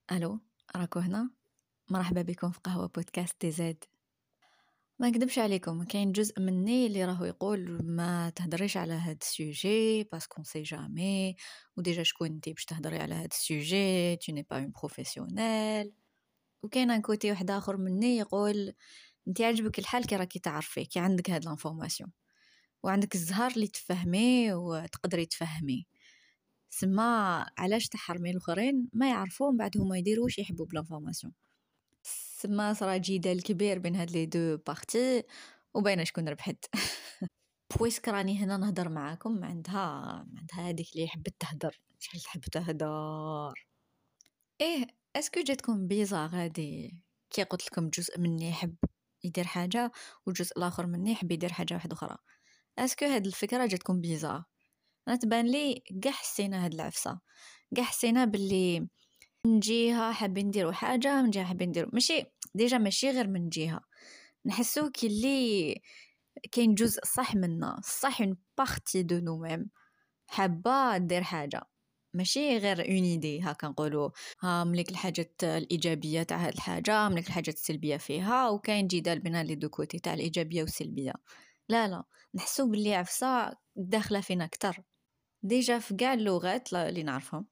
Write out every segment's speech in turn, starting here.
الو، راكو هنا. مرحبا بكم في قهوة بودكاست تي زاد. ما نكذبش عليكم، كاين جزء مني اللي راهو يقول ما تهدريش على هاد السوجي باسكو سي جامي، وديجا شكون انتي باش تهدري على هاد السوجي، tu n'es pas une professionnelle. وكاين ان كوتي واحد اخر مني يقول انتي عجبك الحال كي راكي تعرفي، كي عندك هاد لانفورماسيون وعندك الزهر اللي تفهمي وتقدري تفهمي. سما علاش تحرمي الاخرين ما يعرفوا من بعد هما يديروا واش يحبوا بلانفورماسيون. سما صرا جدال كبير بين هاد لي دو بارتي وباينه شكون ربحت. بويسك راني هنا نهضر معاكم، عندها هذيك اللي حبت تهدر، شحال تحب تهدر. ايه اسكو جاتكم بيزار هادي كي قلت لكم جزء مني يحب يدير حاجه والجزء الاخر مني يحب يدير حاجه واحده اخرى؟ اسكو هاد الفكره جاتكم بيزار؟ انا تبان لي كاع حسينا هاد العفسه، كاع حسينا باللي من جهه حابين نديروا حاجه، من جهه حابين نديروا ماشي غير من جهه. نحسو كي كاين جزء صح منا، صح اون بارتي دو نو ميم حابه دير حاجه، ماشي غير اون ايدي هكا نقولوا ها مليك الحاجات الايجابيه تاع هاد الحاجه مليك الحاجات السلبيه فيها، وكاين جدال بين لي دو كوتي تاع الايجابيه والسلبيه. لا نحسو باللي عفسه داخله فينا اكثر. ديجا في كاع اللغات اللي نعرفهم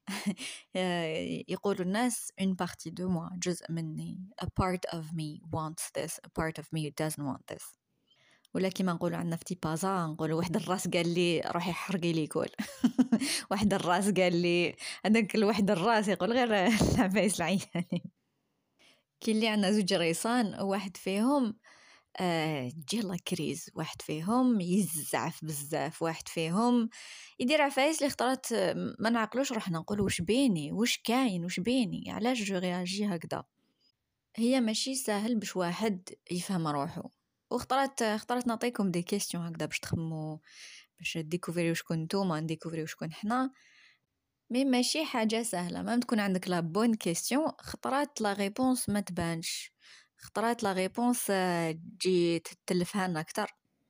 يقولوا الناس une partie de moi، جزء مني، a part of me wants this, a part of me doesn't want this. ولا كيما نقولوا عندنا في تيبازا نقولوا واحد الراس قال لي روحي حرقي لي كل واحد الراس قال لي هذاك الواحد الراس يقول غير العفايس العيانين. كي اللي عندنا زوج ريسان، واحد فيهم تجي لا كريز، واحد فيهم يزعف بزاف، واحد فيهم يدير عفايس اللي اختارت ما نعقلوش روحنا نقول واش بيني، واش كاين، واش بيني، علاش جو رياجي هكذا. هي ماشي سهل باش واحد يفهم روحه، اختارت نعطيكم دي كيستيون هكذا باش تخمو، باش ديكوفريو شكون نتوما، نديكوفريو شكون حنا. مي ماشي حاجه سهله، ما تكون عندك لا بون كيستيون خطرات لا ريبونس ما تبانش، خطرات لا ريبونس تجي تلفها لنا اكثر.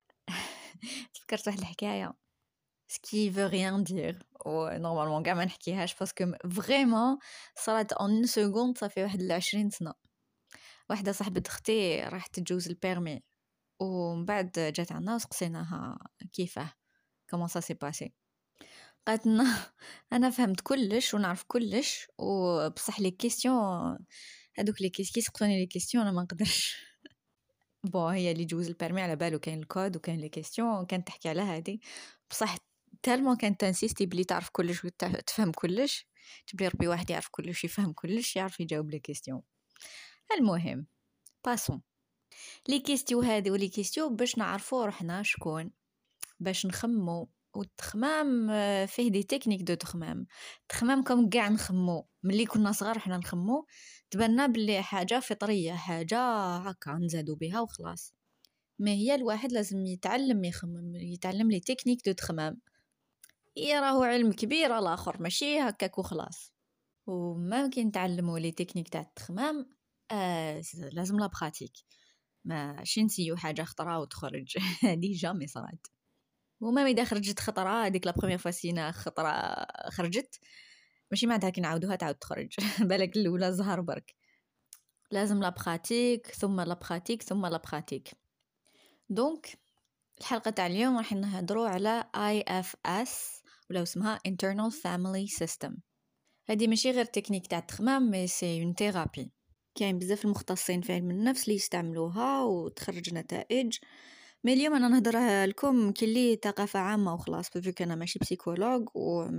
تفكرت واحد الحكايه سكي فو ريان دير و نورمالمون كاع ما نحكيهاش باسكو فريمون صارت اون اون سكوند، صافي واحد 20 سنه. واحده صاحبه اختي راحت تجوز البيرمي، ومن بعد جات عنا وسقسيناها كيفاه كومون سا سي باسي. قالت لنا انا فهمت كلش ونعرف كلش، وبصح لي كيستيون هذوك لي كيس يسقسوني لي كيستيون انا ما نقدرش. بون هي اللي جوز البيرمي على بالو كاين الكود وكاين لي كيستيون، كانت تحكي على هذه بصح تالمون كانت تنسيستي بلي تعرف كلش وتفهم كلش، تبلي ربي واحد يعرف كلش يفهم كلش يعرف يجاوب لي كيستيون. المهم باسون لي كيستيو هذه ولي كيستيو باش نعرفوا روحنا شكون، باش نخمو. والتخمام فيه دي تكنيك دو تخمام كم كاع نخمو ملي كنا صغار حنا نخمو تبنى بلي حاجه فطريه، حاجه هكا نزادو بها وخلاص. ما هي الواحد لازم يتعلم يخمم، يتعلم لي تكنيك دو تخمام. راهو علم كبير الاخر ماشي هكاك وخلاص. وممكن نتعلموا لي تكنيك تاع التخمام لازم لا براتيك، ماشي نسيو حاجه خطره وتخرج هذه جامي صارت. وما اذا خرجت خطره هذيك لا بروميير فوا سينا خطره خرجت ماشي معناتها كي نعاودوها تعاود تخرج بالك الاولى زهر برك. لازم لا براتيك ثم لا براتيك ثم لا براتيك. دونك الحلقه تاع اليوم راح نهضروا على IFS ولا اسمها Internal Family System. هذه ماشي غير تكنيك تاع التخمام، مي سي اون ثيرابي. كاين بزاف المختصين في علم النفس اللي يستعملوها وتخرج نتائج. مي اليوم انا نهضرها لكم كلي ثقافه عامه وخلاص، بفيك انا ماشي بسيكولوج وما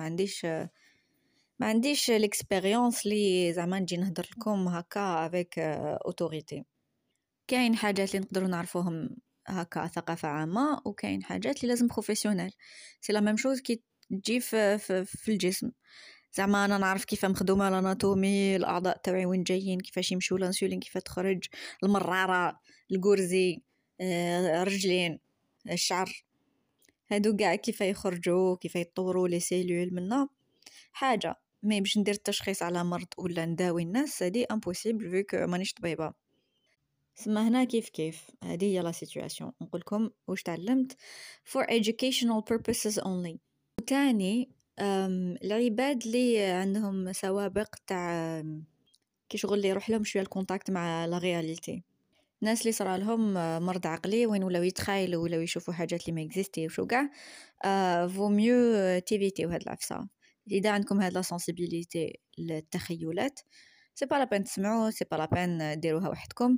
عنديش الاكسبيريونس لي زعما نجي نهضر لكم هكا افيك اوتوريتي. كاين حاجات اللي نقدروا نعرفوهم هكا ثقافه عامه، وكاين حاجات اللي لازم بروفيسيونيل. سي لا ميم شوز كي تجي في الجسم، زعما انا نعرف كيف مخدومه الاناتومي، الاعضاء تاعي وين جايين، كيفاش يمشوا الانسولين، كيف تخرج المراره، الغرزي، رجلين، الشعر، هادو كاع كيف يخرجوا، كيف يطوروا لي سيلول منا حاجه. مي باش ندير التشخيص على مرض ولا نداوي الناس هادي امبوسيبل فيك مانيش طبيبه. سما هنا كيف هذه هي لا سيتوياسيون. نقول لكم واش تعلمت for educational purposes only. وتاني العباد اللي عندهم سوابق تاع كي شغل اللي يروح لهم شويه الكونتاكت مع لا رياليتي. الناس اللي صرا لهم مرض عقلي وين ولاو يتخايلوا ولاو يشوفوا حاجات اللي ما اكزيستيوش وكاع فو ميو تيفيتيو هاد العفسه. اذا عندكم هاد لا سنسيبيليتي للتخيلات سي با لا بين تسمعوا، سي با لا بين ديروها وحدكم.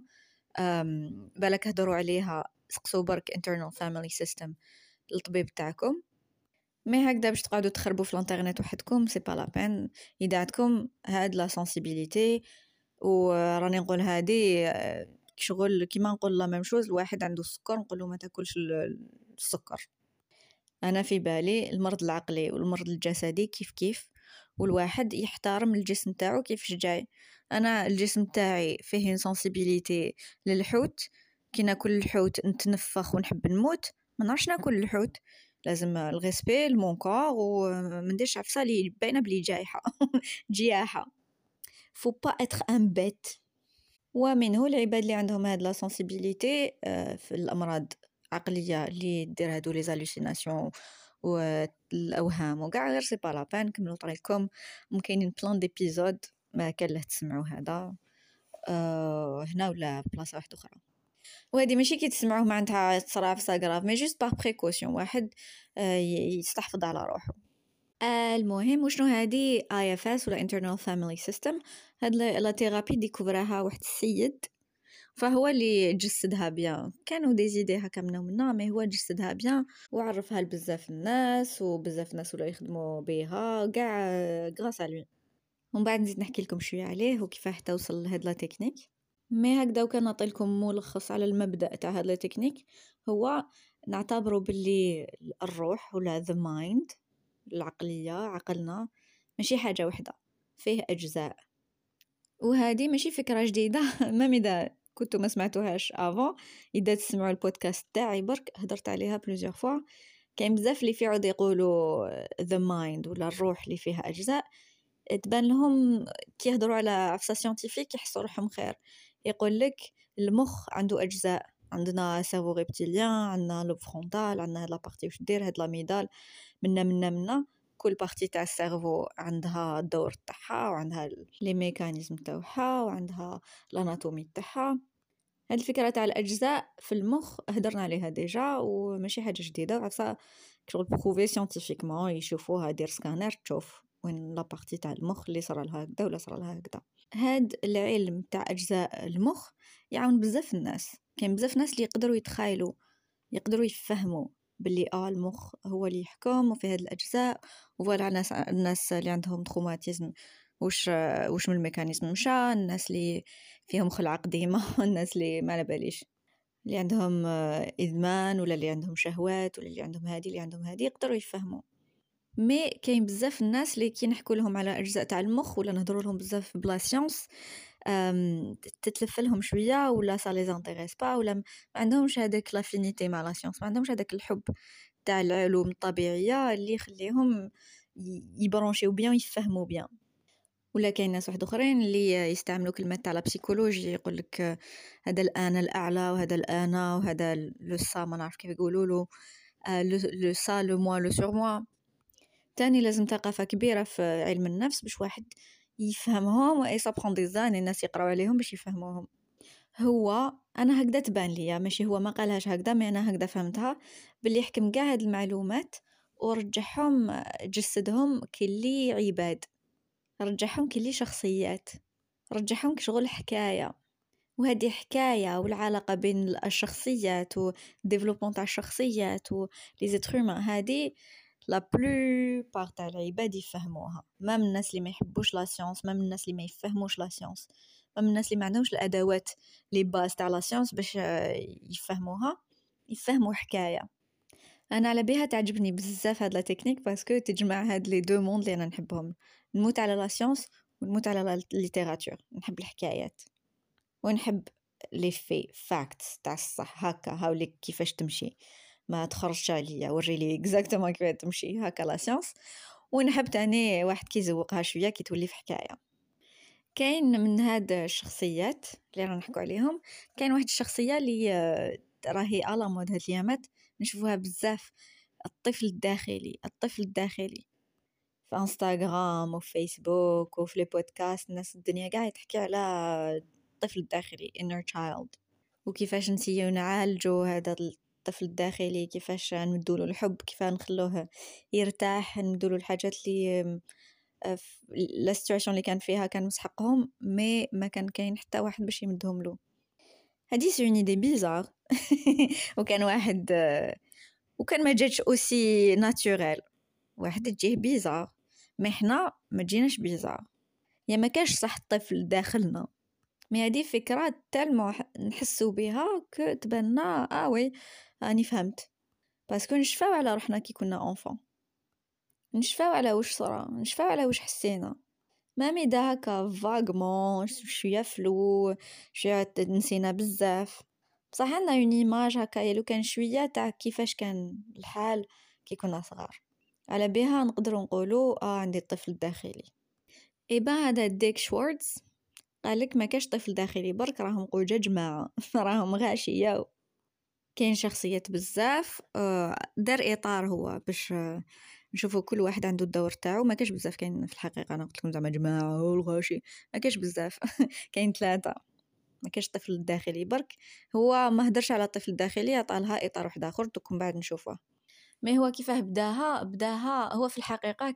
بالك هضروا عليها، سقسوا برك internal family system للطبيب تاعكم. مي هكذا باش تقعدوا تخربوا في الانترنت وحدكم سي با لا بين. اذا عندكم هاد لا سنسيبيليتي وراني نقول هادي شغل كيما نقول لا ميم شوز، الواحد عنده السكر نقول له ما تاكلش السكر. انا في بالي المرض العقلي والمرض الجسدي كيف كيف، والواحد يحترم الجسم تاعو كيفاش جاي. انا الجسم تاعي فيه سنسيبيليتي للحوت، كي ناكل الحوت نتنفخ ونحب نموت، ما نعرفش ناكل الحوت، لازم الغيسبي لمون كور وما نديرش عفسه لي باينه بلي جايحه جياحه. فو با اتر ان بيت. ومنه العباد اللي عندهم هاد لا سنسيبيليتي في الامراض عقليه اللي دير هادو لي زالوسيناسيون والاوهام وكاع، غير سي با لا بان كملوا طريقكم. ممكن بلان ديبيزود ما كان له تسمعوا هذا هنا ولا بلاصه واحده اخرى. وهذه ماشي كي تسمعوه معناتها تصرا في ساغراف، مي جوست باغ بريكوسيون، واحد يستحفظ على روحه. المهم وشنو هذه IFS ولا internal family system؟ هاد لا ثيرابي ديكوفراها واحد السيد، فهو اللي جسدها بيان، كانوا دي زيدي هكا منا مي هو جسدها بيان وعرفها لبزاف الناس، وبزاف الناس ولا يخدموا بها كاع غراس على لوي. ومن بعد نزيد نحكي لكم شويه عليه وكيفاه توصل لهاد لا تكنيك. مي هكذا وكان نعطي لكم ملخص على المبدا تاع هاد لا تكنيك، هو نعتبره باللي الروح ولا the mind، العقليه، عقلنا ماشي حاجه واحده، فيه اجزاء. وهذه ماشي فكره جديده ما اذا كنتو ما سمعتوهاش افون، اذا تسمعوا البودكاست تاعي برك هضرت عليها بلوزيغ فوا. كاين بزاف اللي فيعود يقولوا the mind ولا الروح اللي فيها اجزاء، تبان لهم كي يهضروا على عفسه سيانتيفيك يحسوا روحهم خير. يقول لك المخ عنده اجزاء، عندنا سيرفو ريبتيليان، عندنا لوب فرونتال، عندنا هاد لابارتي واش دير هاد لاميدال، منا كل بارتي تاع السيرفو عندها الدور تاعها وعندها لي ميكانيزم تاعها وعندها الاناتومي تاعها. هاد الفكره تاع الاجزاء في المخ هدرنا عليها ديجا وماشي حاجه جديده، وعفسه شغل بروفي سيانتيفيكمون، يشوفوها دير سكانر تشوف وين لا بارتي تاع المخ اللي صرا لها هكذا ولا صرا لها هكذا. هاد العلم تاع اجزاء المخ يعاون بزاف الناس. كاين بزاف ناس اللي يقدروا يتخايلوا، يقدروا يفهموا باللي المخ هو اللي يحكم وفي هاد الاجزاء. وفوالا الناس اللي عندهم تروماتيزم واش من الميكانيزم مشى، الناس اللي فيهم خلع قديمه الناس اللي ما على باليش، اللي عندهم ادمان ولا اللي عندهم شهوات ولا اللي عندهم هادي اللي عندهم هادي، يقدروا يفهموا. مي كاين بزاف الناس اللي كي نحكوا لهم على اجزاء تاع المخ ولا نهضروا لهم بزاف بلا سيونس تتلف لهم شويه ولا سا لي زانتيريس با، ولا ما عندهمش هذاك لافينيتي مع لا سيونس، ما عندهمش هذاك الحب تاع العلوم الطبيعيه اللي يخليهم يبرونشيو بيان يفهموا بيان. ولا كاين ناس واحد اخرين اللي يستعملوا كلمات تاع لا بسيكولوجي، يقول لك هذا الانا الاعلى وهذا الانا وهذا لو سا، ما نعرف كيف يقولوا له، لو سا لو موا لو سور موا. تاني لازم ثقافه كبيره في علم النفس باش واحد يفهمهم، واي سابخون دي زاني الناس يقراو عليهم باش يفهموهم. هو انا هكذا تبان ليا، ماشي هو ما قالهاش هكذا، مي انا هكذا فهمتها، باللي يحكم كاع هاد المعلومات ورجعهم جسدهم كلي عباد، رجعهم كلي شخصيات، رجعهم كشغل حكايه. وهذه حكايه والعلاقه بين الشخصيات والديفلوبمون تاع الشخصيات ولي زيترومان، هذه لا بلوبار تاع العباد يفهموها، ما من الناس اللي ما يحبوش لا سيونس، ما من الناس اللي ما يفهموش لا سيونس، ما من الناس اللي ما عندهمش الادوات لي باز تاع لا سيونس باش يفهموها، يفهموا حكايه. انا على بها تعجبني بزاف هاد لا تكنيك باسكو تجمع هاد لي دو موند اللي انا نحبهم، نموت على لا سيونس ونموت على لا ليتيراتور. نحب الحكايات ونحب لي في فاكتس تاع الصح، هكا هاوليك كيفاش تمشي، ما تخرجش عليا وري لي اكزاكتومون كيفاش تمشي هكا لا سيونس. ونحب تاني واحد كيزوقها شويه كي تولي في حكايه. كاين من هاد الشخصيات اللي رانا نحكوا عليهم، كاين واحد الشخصيه اللي راهي على مود هاد الايامات نشوفوها بزاف، الطفل الداخلي. الطفل الداخلي في انستغرام وفي فيسبوك وفي لي بودكاست الناس الدنيا قاعده تحكي على الطفل الداخلي inner child، وكيفاش نسيو نعالجو هذا الطفل الداخلي، كيفاش نمدوله الحب، كيف نخلوه يرتاح، ندولو الحاجات اللي لا سيتوياسيون اللي كان فيها كان مسحقهم مي ما كان كاين حتى واحد باش يمدهم له. هذه سي اون ايدي بيزار وكان واحد وكان ما جاتش اوسي ناتوريل، واحد تجيه بيزار، ما حنا ما جيناش بيزار، يا ما كاش صح الطفل داخلنا، مي هذه فكرة تالمو نحسو بها كو تبنى وي راني فهمت، باسكو نشفاو على روحنا كي كنا انفون، نشفاو على واش صرا، نشفاو على واش حسينا، مامي دا هكا فاغمون شويه فلو، شويه نسينا بزاف، بصح عندنا اون ايماج هكا يلو كان شويه تاع كيفاش كان الحال كي كنا صغار، على بها نقدروا نقولوا عندي الطفل الداخلي. اي با هذا ديك شوارتز قالك ما كاش طفل داخلي برك، راهم قوجه جماعه راهم غاشيه، كاين شخصيات بزاف، دار اطار هو باش نشوفوا كل واحد عنده الدور تاعو، ما كاش بزاف كاين في الحقيقه، انا قلت لكم زعما جماعه والغاشي ما كاش بزاف كاين 3، ما كاش طفل الداخلي برك، هو ما هدرش على الطفل الداخلي، عطالها اطار واحد اخر دوك من بعد نشوفوه. ما هو كيفاه بداها هو في الحقيقه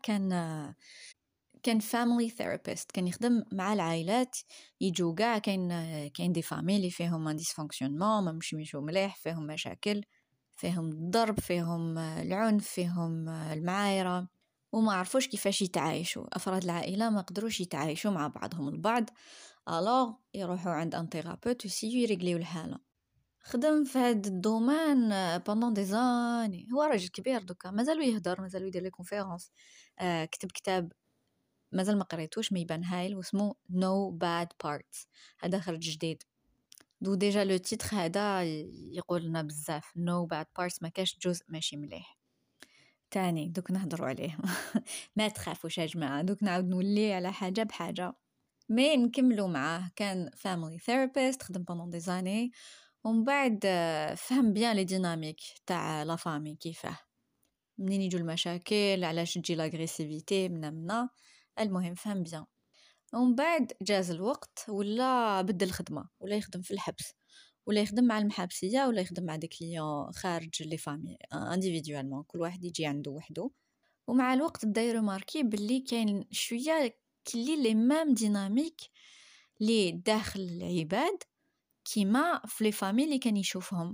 كان family therapist، كان يخدم مع العائلات، يجوا كاع كاين دي فاميلي فيهم ان ديسفونكسيونمون، ما مشيو مليح، فيهم مشاكل، فيهم الضرب، فيهم العنف، فيهم المعايرة، وما عرفوش كيفاش يتعايشوا، افراد العائله ما قدروش يتعايشوا مع بعضهم البعض، الوغ يروحوا عند ان ثيرابيوت يسيو يريغليو الحاله. خدم في هذا الدومين بوندون دي زاني، هو راجل كبير دوكا مازالو يهدر، مازالو يدير لي كونفيرونس، كتب كتاب مازال ما قريتوش، ما يبان هايل، واسمه No Bad Parts، هذا خرج جديد، دو ديجا لو تيتر هذا يقول لنا بزاف، No Bad Parts، ما كاش جزء ماشي مليح. تاني دوك نهضروا عليه ما تخافوش يا جماعه، دوك نعاود نولي على حاجه بحاجه، مي نكملوا معاه. كان family therapist، خدم pendant des années، ومن بعد فهم بيان لي ديناميك تاع لا فامي، كيفاه منين يجوا المشاكل، علاش تجي لاغريسيفيتي منا، المهم فهم بيان. ومن بعد جاز الوقت ولا بدل الخدمه، ولا يخدم في الحبس، ولا يخدم مع المحابسيه، ولا يخدم مع دي كليون خارج لي فامي انديفيدوالمون، كل واحد يجي عنده وحده. ومع الوقت بدا يرماركي باللي كاين شويه كلي لي ميم ديناميك لي داخل العباد كيما في لي فامي اللي كان يشوفهم.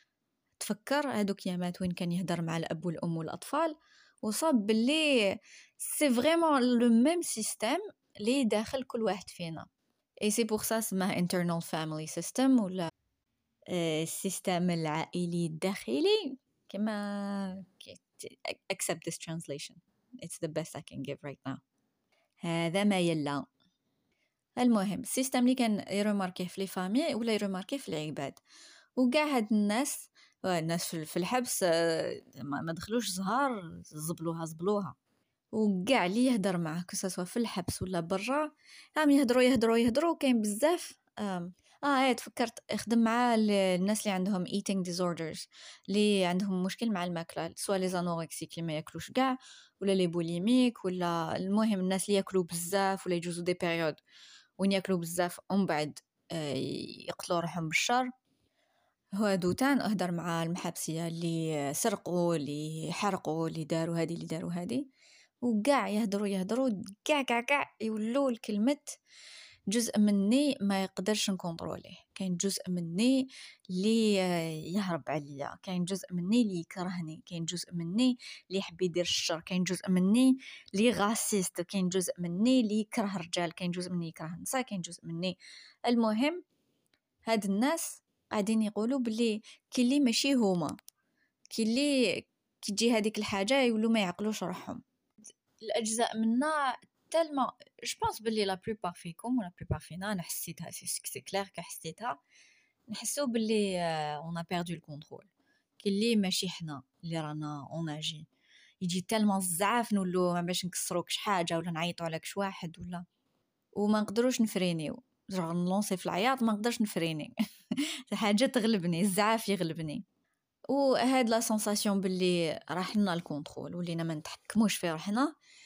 تفكر هذوك يامات وين كان يهدر مع الاب والام والاطفال، وصاب باللي سي فريمون لو ميم سيستيم لي داخل كل واحد فينا، اي سي بور سا اسمه internal family system ولا السيستم العائلي الداخلي، كما accept this translation, it's the best I can give right now. هذا ما يلا. المهم السيستم اللي كان يرماركيه في لي فامي ولا يرماركيه في العباد، وكاع هاد الناس في الحبس ما دخلوش زهار، زبلوها وكاع اللي يهدر معاه كسوا في الحبس ولا برا، هم يهدروا كاين بزاف. تفكرت اخدم مع الناس اللي عندهم eating disorders، اللي عندهم مشكل مع الماكله، سواء لي زانوركسيك اللي ما ياكلوش كاع، ولا لي بوليميك، ولا المهم الناس اللي ياكلوا بزاف ولا يجوزوا دي بيريود وين ياكلوا بزاف ومن بعد يقتلوا روحهم بالشر. هادو تان اهدر مع المحابسيه اللي سرقوا، اللي حرقوا، اللي داروا هذه وكاع يهدروا كاع يولوا الكلمه جزء مني ما يقدرش نكونتروليه، كاين جزء مني اللي يهرب عليا، كاين جزء مني اللي يكرهني، كاين جزء مني اللي يحب يدير الشر، كاين جزء مني اللي غاسيست، كاين جزء مني اللي يكره الرجال، كاين جزء مني يكره النساء، كاين جزء مني. المهم هاد الناس قاعدين يقولوا بلي كي اللي ماشي هما، كي اللي كي تجي هذيك الحاجه يولوا ما يعقلوش روحهم. الاجزاء منا تالما جو بونس بلي لا بلوبار فيكم ولا بلوبار فينا، انا حسيتها سي كلير كحسيتها، نحسو بلي اون ا بيردو الكونترول، كي اللي ماشي حنا اللي رانا اون اجي، يجي تالما الزعاف نولو ما باش نكسروكش حاجه ولا نعيطوا عليك واحد ولا، وما نقدروش نفرينيو، جرب نلونسي في العياط ما نقدرش نفريني حاجه تغلبني، الزعاف يغلبني. وهاد لا سensation باللي راح لنا الكونترول ولينا ما نتحكموش في روحنا،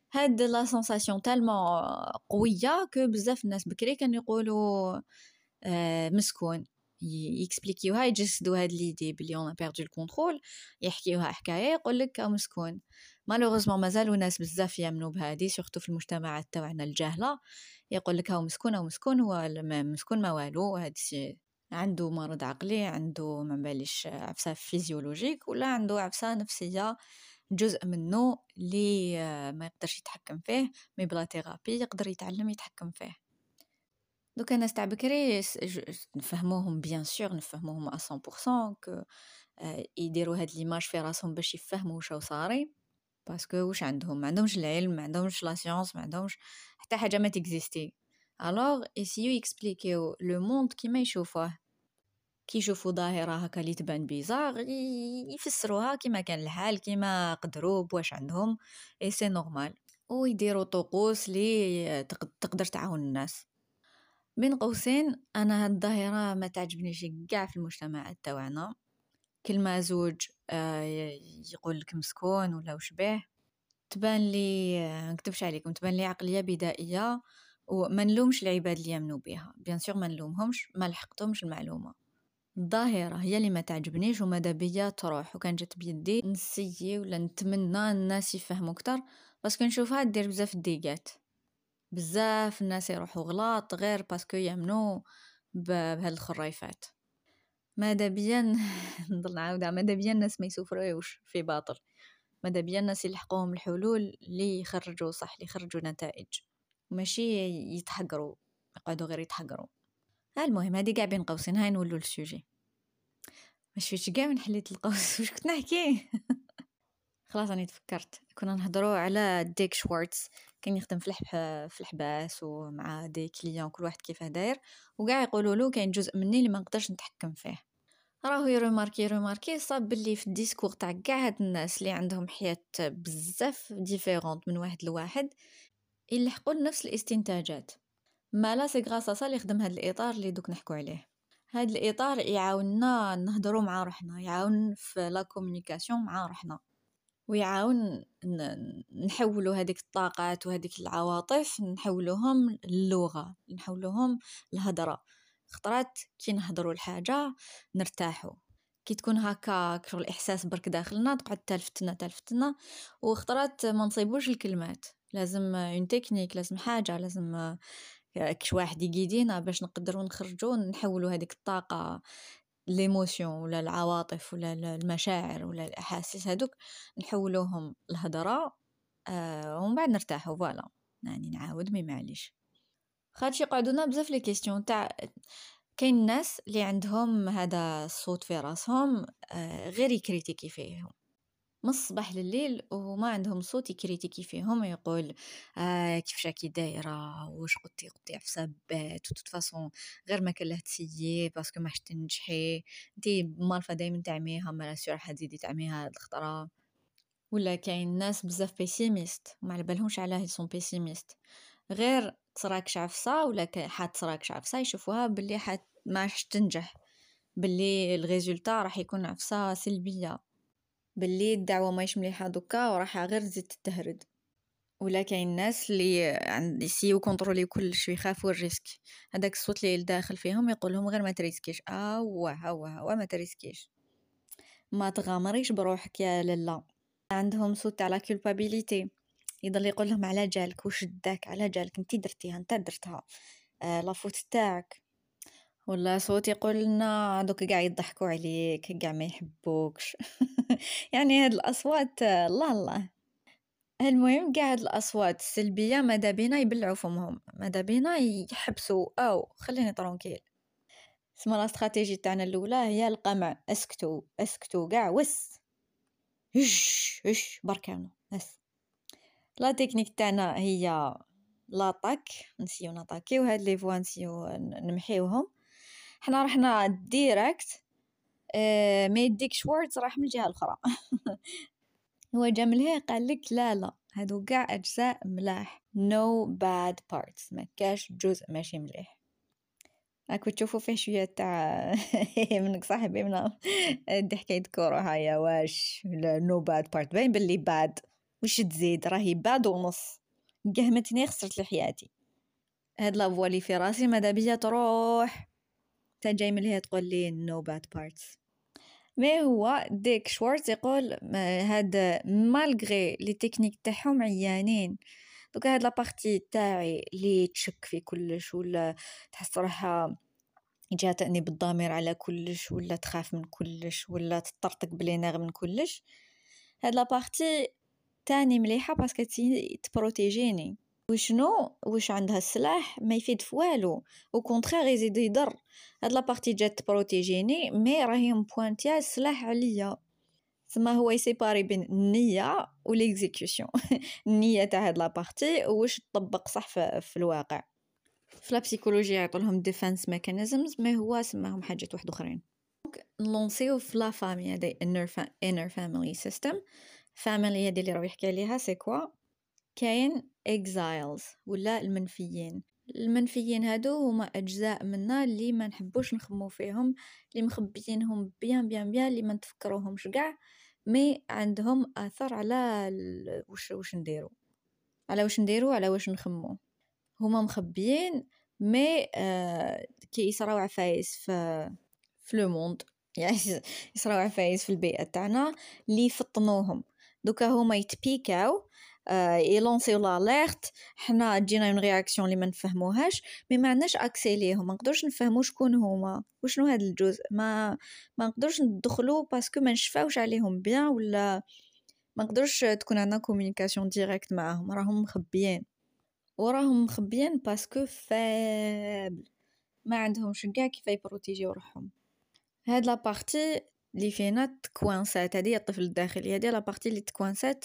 هاد لا سونساسيون تالمون قويه كو بزاف الناس بكري كانوا يقولوا مسكون، يكسبليكيوها يجسدوا هاد ليدي بلي اون بيردو الكونترول، يحكيوها حكايه يقول لك مسكون. مالوغوزمون مازالوا ناس بزاف يامنوا بهادي سورتو في المجتمعات تاعنا الجاهله، يقول لك هاو مسكون هاو مسكون، هو مسكون ما والو، هادشي عنده مرض عقلي، عنده ما باليش عفسه فيزيولوجيك ولا عنده عفسه نفسيه، جزء منه اللي ما يقدرش يتحكم فيه، مي بلا ثيرابي يقدر يتعلم يتحكم فيه. دوك الناس تاع بكري نفهموهم بيان سور، نفهموهم 100% ك يديروا هاد ليماج في راسهم باش يفهموا واش صاري، باسكو واش عندهم، ما عندهمش العلم، ما عندهمش لا سيونس، ما عندهمش حتى حاجه ما تكزيستي. الوغ يسيو يكسبليكيو لو موند كيما يشوفوه، كي يشوفوا ظاهره هكا اللي تبان بيزار يفسروها كيما كان الحال، كيما قدروا بواش عندهم، اي سي نورمال، ويديروا طقوس لي تقدر تعاون الناس. بين قوسين انا هاد الظاهره ما تعجبنيش كاع في المجتمع تاعنا. كلمه زوج يقول لك مسكون ولا وشبه، تبان لي نكتبش عليكم، تبان لي عقليه بدائيه، وما نلومش العباد اللي يامنوا بها، بيان سور ما نلومهمش، ما لحقتهمش المعلومه. الظاهره هي اللي ما تعجبنيش وماذا بيا تروح، وكان جات بيدي نسيي ولا نتمنى الناس يفهموا اكثر، باسكو نشوفها دير بزاف ديقات، بزاف الناس يروحوا غلط غير باسكو يامنوا بهاد الخريفات. ماذا بيا نضل نعاودها، ماذا بيا الناس ما يسوفروش في باطل، ماذا بيا الناس يلحقوهم الحلول اللي يخرجوا صح، اللي يخرجوا نتائج، ماشي يتحقروا يقعدوا غير يتحقروا. المهم هذه كاع بين قوسين، هاي نولوا للسوجي. مش فيش كاع من حليت القوس واش كنت نحكي. خلاص راني تفكرت، كنا نهضروا على ديك شوارتز، كان يخدم في الحباس ومع دي كليون كل واحد كيفاه داير، وكاع يقولوا له كاين جزء مني اللي ما نقدرش نتحكم فيه. راهو يروماركي صاب باللي في الديسكور تاع كاع هاد الناس اللي عندهم حياة بزاف ديفيرونت من واحد لواحد يلحقوا لنفس الاستنتاجات. ما لا سي غراسا صا اللي خدم هاد الاطار اللي دوك نحكوا عليه. هاد الاطار يعاوننا نهضروا مع روحنا، يعاون في لا كومونيكاسيون مع روحنا، ويعاون نحولوا هذيك الطاقات وهذيك العواطف نحولوهم اللغة، نحولوهم الهضرة. خطرات كي نهضروا الحاجة نرتاحوا، كي تكون هكا كشغل الاحساس برك داخلنا تقعد تلفتنا، وخطرات ما نصيبوش الكلمات، لازم اون تكنيك، لازم حاجة، لازم كش واحد يقيدينا باش نقدروا نخرجوا نحولوا هذيك الطاقة ليموسيون ولا العواطف ولا المشاعر ولا الاحاسيس هذوك نحولوهم الهضره، ومن بعد نرتاحوا. فوالا يعني نعاود مي معليش، خاطش يقعدونا بزاف لي كيستيون تاع كاين الناس اللي عندهم هذا الصوت في راسهم، غير يكريتيكي فيهم من الصباح لليل، وما عندهم صوت يكريتيكي فيهم، يقول كيفاش راكي دايره، واش قلتي عفسه بات، وتوت فاصون غير ما كان له تسيي باسكو ما حش تنجحي، انتي مالفه دائما تعميها، ما سور راح تزيدي تعميها هاد الخطره. ولا كاين ناس بزاف بيسيميست، ما على بالهمش علاه يسون بيسيميست، غير تصراكش عفسه ولا حات تصراكش عفسه يشوفوها باللي حات ما حش تنجح، باللي الريزولتا راح يكون عفسه سلبيه، باللي الدعوة ماهيش مليحة دوكا وراح غير تزيد تتهرد. ولا كاين الناس اللي يسيو كونترولي كلش ويخافوا الريسك، هذاك الصوت اللي داخل فيهم يقول لهم غير ما تريسكيش، هو ما تريسكيش، ما تغامريش بروحك يا لالا. عندهم صوت تاع لا كولبابيليتي، يضل يقول لهم على جالك، وش داك على جالك، انت درتيها انت درتها، لا فوت تاعك. ولا صوت يقول لنا دوك قاع يضحكوا عليك، قاع ما يحبوكش. يعني هاد الاصوات الله الله. المهم قاع هاد الاصوات السلبيه ماذا بينا يبلعوا فمهم، ماذا بينا يحبسوا او خليني طرونكيل. اسمها لا استراتيجي تاعنا الاولى هي القمع، اسكتوا اسكتوا قاع وس، هش بركانو بس. لا تكنيك تاعنا هي لاطاك، نسيو نطاكيو هاد لي فوا، نسيو نمحيوهم، حنا رحنا ديريكت. ما يديك شوارتز راح من الجهه الاخرى. هو جا من هي قال لك لا هادو كاع اجزاء ملاح، no bad parts، ما كاش جزء ماشي مليح. راكو تشوفوا فيه شويه تاع منك صاحبي من دي حكايه كوره هيا، واش no bad part باين باللي bad، وش تزيد راهي bad ونص، قهمتني خسرت لحياتي. هاد لا فوا اللي في راسي ماذا بيا تروح تا جاي من هي تقول لي no bad parts. ما هو ديك شوارتز يقول هاد مالغري لي تكنيك تاعهم عيانين. دوك هاد لابارتي تاعي اللي تشك في كلش ولا تحس روحها يجيها تأنيب بالضمير على كلش ولا تخاف من كلش ولا تطرطق بلي ناغ من كلش، هاد لابارتي تاني مليحه باسكو تبروتيجيني. واش عندها السلاح ما يفيد في والو، او كونترير يزيد يضر. هاد لابارتي جات تبروتيجيني مي راهي مبوانتيا السلاح عليا. ثم هو يسيباري بين النيه وليكزيكيوشن النيه تاع هاد لابارتي واش تطبق صح في الواقع. في لا بسيكولوجيا يعطولهم ديفنس ميكانيزمز ما هو سماهم حاجات واحد اخرين. نلونسيو في لا فامي هذه inner family system. family هذه اللي راه يحكي عليها سي كوا. كاين exiles ولا المنفيين هادو هما اجزاء منا اللي ما نحبوش نخمو فيهم، اللي مخبيينهم بيان اللي ما نتفكروهمش كاع، مي عندهم اثر على واش نديرو على واش نخمو. هما مخبيين مي كي يصراو عفايس في لو موند، يعني يصراو عفايس في البيئه تاعنا اللي يفطنوهم. دوكا هما يتبيكاو يلونسيو لاليرت، حنا تجينا اون رياكسيون اللي ما نفهموهاش مي ما عندناش اكسي ليهم، ما نقدرش نفهموا شكون هما وشنو هذا الجزء، ما نقدرش ندخلوا باسكو ما نشفاوش عليهم بيان ولا ما نقدرش تكون عندنا كومونيكاسيون ديريكت معاهم. راهم مخبيين باسكو فابل ما عندهمش كاع كيف يبروتيجيو روحهم. هاد لا بارتي اللي فينا تكوانسات، هذه الطفل الداخلي، هذه لا بارتي اللي تكوانسات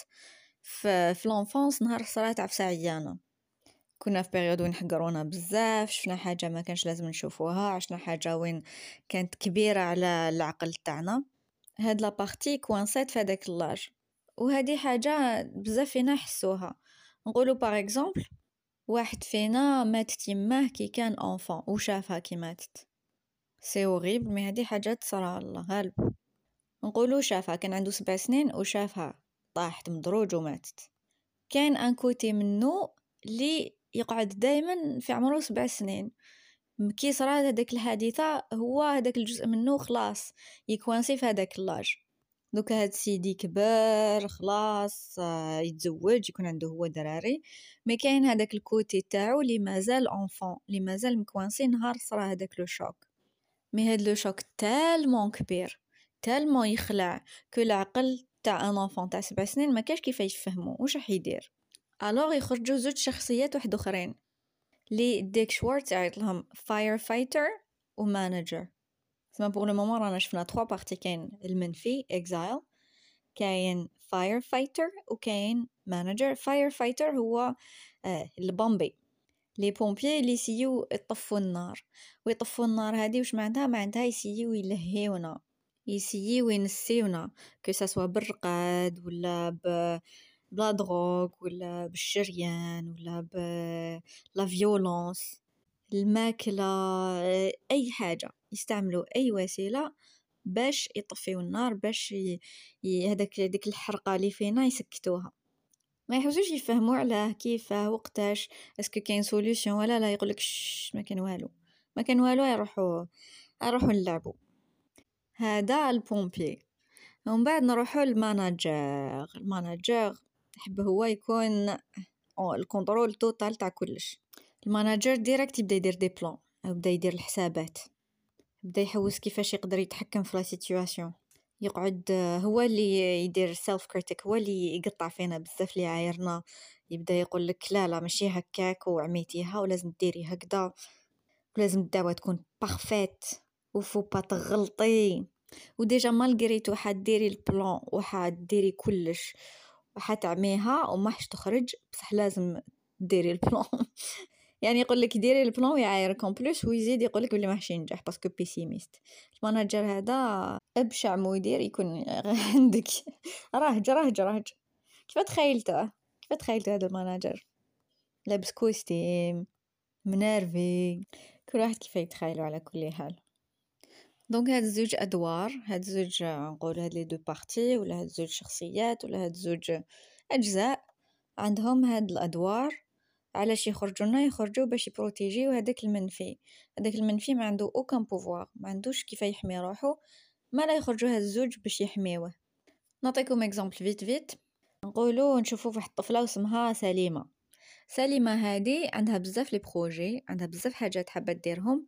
في لونفونس نهار صرات عفسه عيانه. كنا في بيريود وين حقرونا بزاف، شفنا حاجه ما كانش لازم نشوفوها، عشنا حاجه وين كانت كبيره على العقل تاعنا. هاد لا بارتي كوانسات في هذاك اللاج، وهذه حاجه بزاف فينا حسوها. نقولوا باغ اكزومبل واحد فينا ماتت يماه كي كان انفان وشافها كي ماتت، سي هوريبل مي هذه حاجه تصرى الله غالب. نقولوا شافها كان عنده 7 سنين وشافها طاحت مدروج وماتت. كان ان كوتي منه اللي يقعد دائما في عمره 7 سنين، كي صرات هذيك الحادثه هو هذاك الجزء منه خلاص يكوانسي في هذاك اللاج. دوكا هاد سيدي كبر خلاص يتزوج يكون عنده هو دراري، مي كاين هذاك الكوتي تاعو اللي مازال انفون، اللي مازال مكوانسي نهار صرا هذاك لو شوك. مي هاد لو شوك تالمون كبير تالمون يخلع كل العقل تاع ان انفون تاع 7 سنين ما كاش كيف يفهموا واش راح يدير. الوغ يخرجوا زوج شخصيات واحد اخرين لي ديك شوارتز عيط لهم فاير فايتر ومانجر. سما بور لو مومون رانا شفنا 3 بارتي، كاين المنفي اكزايل، كاين فاير فايتر وكاين مانجر. فاير فايتر هو البومبي، لي بومبيي اللي يسيو يطفوا النار. ويطفوا النار هذه واش معناتها يسيو يلهيونا، يسيو ينسيونا كو سوا بالرقاد ولا بلا دروغ ولا بالشريان ولا بلا فيولونس، الماكله، اي حاجه يستعملوا اي وسيله باش يطفيو النار، باش هذاك ديك الحرقه اللي فينا يسكتوها. ما يحوسوش يفهموا على كيف وقتاش اسكو كاين سوليوشن ولا لا. يقولك ما كان والو يروحوا نلعبوا. هذا البومبي. ومن بعد نروحوا الماناجر يحب هو يكون الكنترول توتال تاع كلش. الماناجر ديريكت يبدا يدير دي بلان، يبدا يدير الحسابات، يبدا يحوس كيفاش يقدر يتحكم في لا سيتوياسيون. يقعد هو اللي يدير سيلف كريتيك، هو اللي يقطع فينا بزاف اللي عايرنا. يبدا يقول لك لا ماشي هكاك وعميتيها ولازم ديري هكذا ولازم الدعوه تكون بارفيت وفو با تغلطي. وديجا مالغريتو حديري البلان وحديري كلش وحتعميها وماحش تخرج، بصح لازم ديري البلان يعني يقول لك ديري البلان ويعايرك اون بلوس ويزيد يقول لك بلي ماحش ينجح باسكو بيسيميست. المانجر هذا ابشع مدير يكون عندك. رهج كيف تخيلته هذا المانجر لابس كوستيم منرفي، كل واحد كيف يتخيلوا على كل حال. دونك هاد زوج ادوار، هاد زوج نقول هاد لي دو بارتي ولا هاد زوج شخصيات ولا هاد زوج اجزاء عندهم هاد الادوار علاش يخرجوا لنا؟ يخرجوا باش يبروتيجيو هذاك المنفي. هذاك المنفي ما عنده اوكان بوفوار، ما عندوش كيف يحمي روحه، ما لا يخرجوا هاد الزوج باش يحميوه. نعطيكم اكزامبل فيت. نقولوا نشوفوا واحد الطفله اسمها سليمه. سليمه هذه عندها بزاف لي بروجي، عندها بزاف حاجات حابه ديرهم،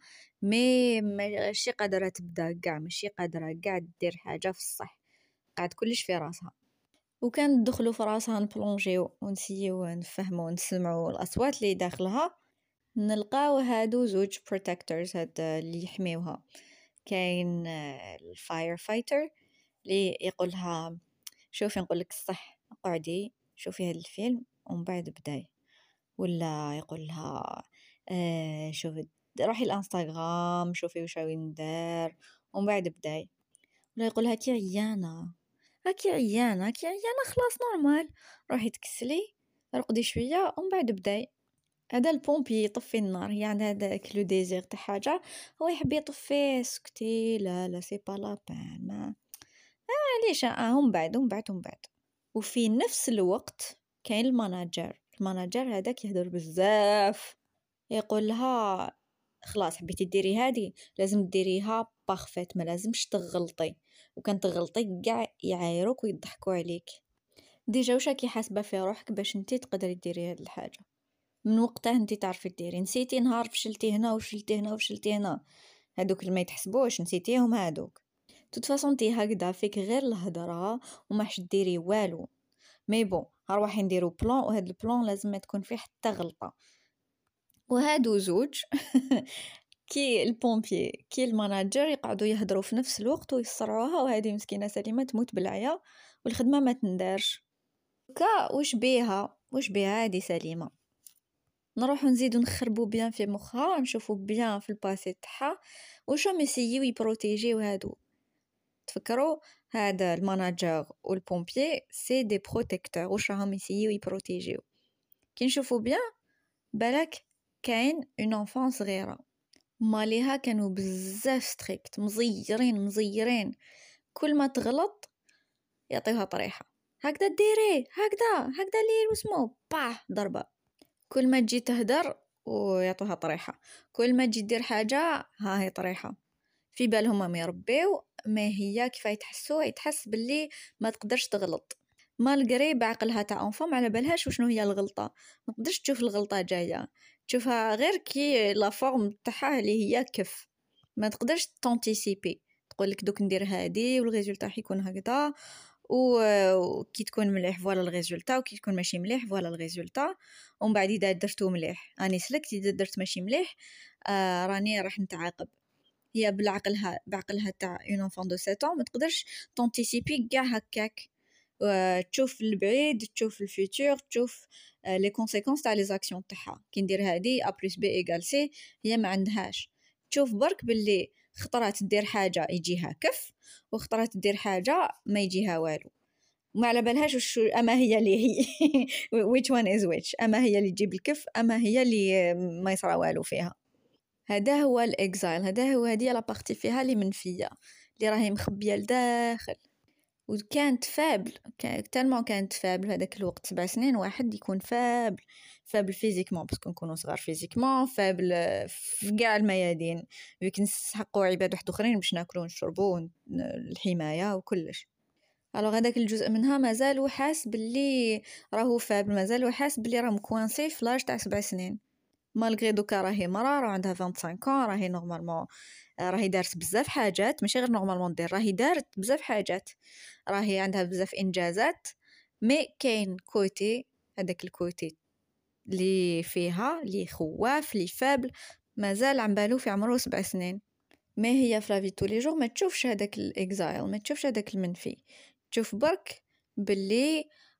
ماشي قادره تبدا كاع، ماشي قادره كاع دير حاجه في الصح، قاعد كلش في راسها. وكان ندخلوا في راسها نبلونجيو ونسيو نفهموا ونسمعوا الاصوات اللي داخلها، نلقاو هادو زوج بروتكتورز هاد اللي يحميوها. كاين الفاير فايتر اللي يقولها شوفي نقولك الصح، قعدي شوفي هاد الفيلم ومن بعد بداي، ولا يقولها شوفي روحي الانستغرام شوفي واش راهي ندير ومن بعد بداي، ولا يقولها كي عيانه راكي عيانه كي عيانه خلاص نورمال، روحي تكسلي رقدي شويه ومن بعد بداي. هذا البومبي يطفي النار، هي عندها هذاك لو ديزير تاع حاجه، هو يحب يطفيه، سكتي لا لا سي با لا بان، ما علاش هم بعد. وفي نفس الوقت كاين الماناجر هذاك يهدر بزاف، يقول لها خلاص حبيتي ديري هذه لازم ديريها بارفيت، ما لازمش تغلطي، وكان تغلطي كاع يعايروك ويضحكوا عليك. ديجا واش راكي حاسبه في روحك باش انتي تقدري ديري هذه الحاجه؟ من وقتها انتي تعرفي ديري، نسيتي نهار فشلتي هنا وفشلتي هنا وفشلتي هنا، هادوك اللي ما يتحسبوش نسيتيهم هادوك. توت انتي هكذا فيك غير الهضره وما حش ديري والو. مي بون هروحي نديرو بلان، وهاد البلان لازم ما تكون فيه حتى غلطه. وهادو زوج كي البومبي كي الماناجر يقعدوا يهضروا في نفس الوقت ويصرعوها، وهذه مسكينه سليمه تموت بالعيا والخدمه ما تندارش. كا واش بيها هذه سليمه؟ نروحو نزيدو نخربو بيان في مخها، نشوفو بيان في الباسي تاعها واش راهم يسيو يبروتيجيو هادو. تفكروا هذا الماناجر والبومبيي سي دي بروتيكتور، واش راهم يسيو يبروتيجيو. كي نشوفو بيان بالك كاين اون انفان صغيره، ماليها كانوا بزاف ستريكت، مزيرين كل ما تغلط يعطيوها طريحه، هكذا ديري هكذا لي واسمو باه ضربه. كل ما تجي تهدر ويعطوها طريحه، كل ما تجي دير حاجه ها هي طريحه. في بالهم ما يربيو، ما هي كيف يتحس باللي ما تقدرش تغلط، مالغري بعقلها تاع انفام على بالهاش وشنو هي الغلطه، ما تقدرش تشوف الغلطه جايه، تشوفها غير كي لا فورم تاعها اللي هي كيف، ما تقدرش تونتيسيبي تقول لك دوك ندير هادي والريزولتا حيكون هكذا، وكي تكون مليح فوالا الريزولتا، وكي تكون ماشي مليح فوالا الريزولتا. ومن بعد اذا درتو مليح راني سلكت، اذا درت ماشي مليح راني راح نتعاقب. هي بعقلها تاع اون انفان دو 7 ans ما تقدرش تونتيسيبي كاع هكاك، تشوف البعيد، تشوف الفيتور، تشوف لي كونسيكونس تاع لي زاكسيون تاعها. كي ندير هادي ا بلس بي ايغال سي، هي ما عندهاش تشوف برك باللي خطرات دير حاجه يجيها كف، وخطرات دير حاجه ما يجيها والو، ما على بالهاش وش اما هي اللي هي which one is which، اما هي اللي تجيب الكف اما هي اللي ما يصرى والو فيها. هذا هو الاكزايل، هذه لا بارتي فيها اللي منفيه، اللي راهي مخبيه لداخل. وكانت فابل، كانت فابل هذاك الوقت. 7 سنين واحد يكون فابل فيزيكمون، باسكو نكونوا صغار فيزيكمون، فابل في كاع الميادين، ويك نسحقوا عباد واحد اخرين باش ناكلوا ونشربوا الحمايه وكلش. الوغ هذاك الجزء منها مازال حاس باللي راهو فابل، مازال حاس باللي راه مكوانسي في لاج تاع 7 سنين، مالغري دوكا راهي مرا راه عندها 25 ans، راهي نورمالمون راهي دارت بزاف حاجات، ماشي غير نورمالمون دير، راهي دارت بزاف حاجات، راهي عندها بزاف انجازات. مي كاين كوتي، هذاك الكوتي اللي فيها اللي خواف اللي فابل مازال عم بالو في عمره 7 سنين. ما هي في لافي طول لي جور ما تشوفش هذاك الاكزايل، ما تشوفش هذاك المنفي، تشوف برك باللي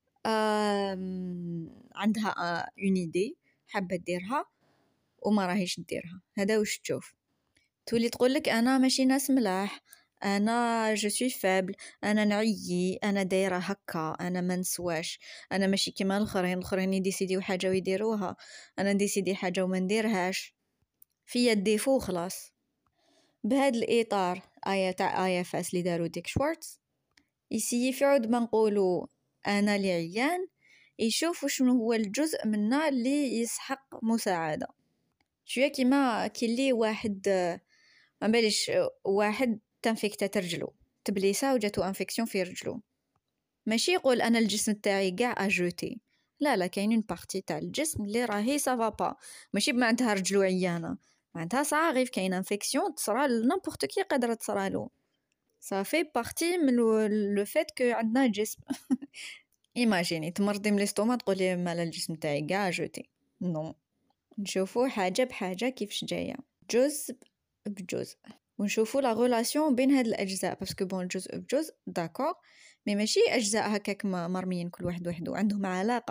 عندها اون ايدي حابه ديرها وما راهيش ديرها. هذا واش تشوف، تولي تقولك انا ماشي ناس ملاح، انا جو سوي فابل، انا نعيي، انا دايره هكا، انا ما نسواش، انا ماشي كيما الاخرين يديسيديو حاجه ويديروها، انا نديسيدي حاجه وما نديرهاش، في الديفو خلاص. بهذا الاطار تاع ايا فاس اللي داروا ديك شوارتز يسيي في عود ما نقولوا انا اللي عيان، يشوف شنو هو الجزء منا اللي يسحق مساعدة. شوية كيما كي اللي واحد ما باليش واحد تنفيكتات رجلو تبليسة وجاتو انفكسيون في رجلو، ماشي يقول انا الجسم تاعي كاع اجوتي، لا كاينين بارتي تاع الجسم اللي راهي سافا با، ماشي بمعناتها رجلو عيانه، معناتها صعيب كاين انفكسيون تصرى لنيمبورط كي قادره تصرالو، صافي بارتي من لو فيت كو عندنا جسم. ايماجيني تمرضي من الاستوما تقولي مال الجسم تاعي كاع جوتي، نو، نشوفوا حاجه بحاجه كيفاش جايه، جزء بجزء، ونشوفوا لا ريلاسيون بين هاد الاجزاء، باسكو بون جزء بجزء داكور، مي ماشي اجزاء هكاك مرميين كل واحد وحده، عندهم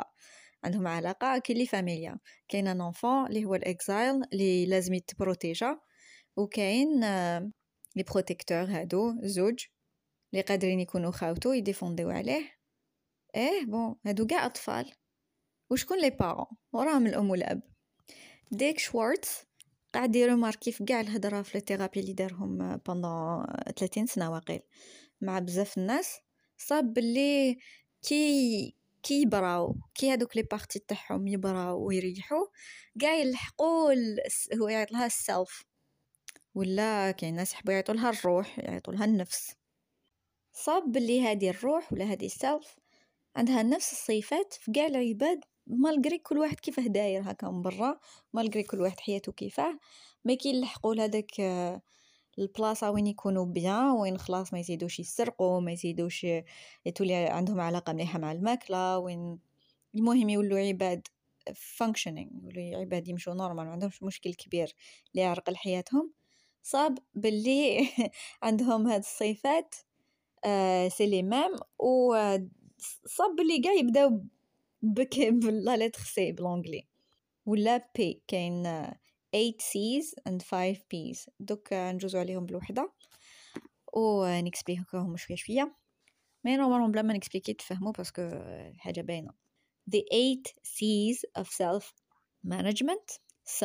علاقه كي لي فاميليا، كاين ان انفون اللي هو الاكزايل اللي لازم يتبروتيجا، وكاين لي بروتيكتور هادو زوج اللي قادرين يكونوا خاوتو يديفونديو عليه، بون هادو كاع اطفال، وشكون لي بارون وراهم الام والاب. ديك شوارتز قاعد يروماركي في كاع الهضره في الثيرابي اللي دارهم بوندون 30 سنه واقيل مع بزاف الناس، صاب بلي كي يبراو كي هادوك لي بارتي تاعهم يبراو ويريحوا كاع يلحقوا هو يعيط لها السلف، ولا كاين ناس يحبوا يعيطوا لها الروح، يعيطوا لها النفس، صاب بلي هذه الروح ولا هذه السلف عندها نفس الصفات في كاع العباد، مالغري كل واحد كيفاه داير هكا من برا، مالغري كل واحد حياته كيفاه، ما كيلحقوا لهداك البلاصه وين يكونوا بيان، وين خلاص ما يزيدوش يسرقوا، ما يزيدوش يتولي عندهم علاقه مليحه مع الماكله، وين المهم يولوا عباد functioning، يولوا عباد يمشوا نورمال، ما عندهمش مشكل كبير اللي يعرقل حياتهم، صاب باللي عندهم هاد الصفات سي لي ميم، و صاب اللي قاع يبداو بك بلا لتر سي بالانجلي ولا بي، كاين 8 C's and 5 P's، دوك نجوزو عليهم بالوحده ونكسبليكوهم شويه مي نورمالمون بلا ما نكسبليكي تفهموا باسكو حاجه باينه. The 8 C's of self management،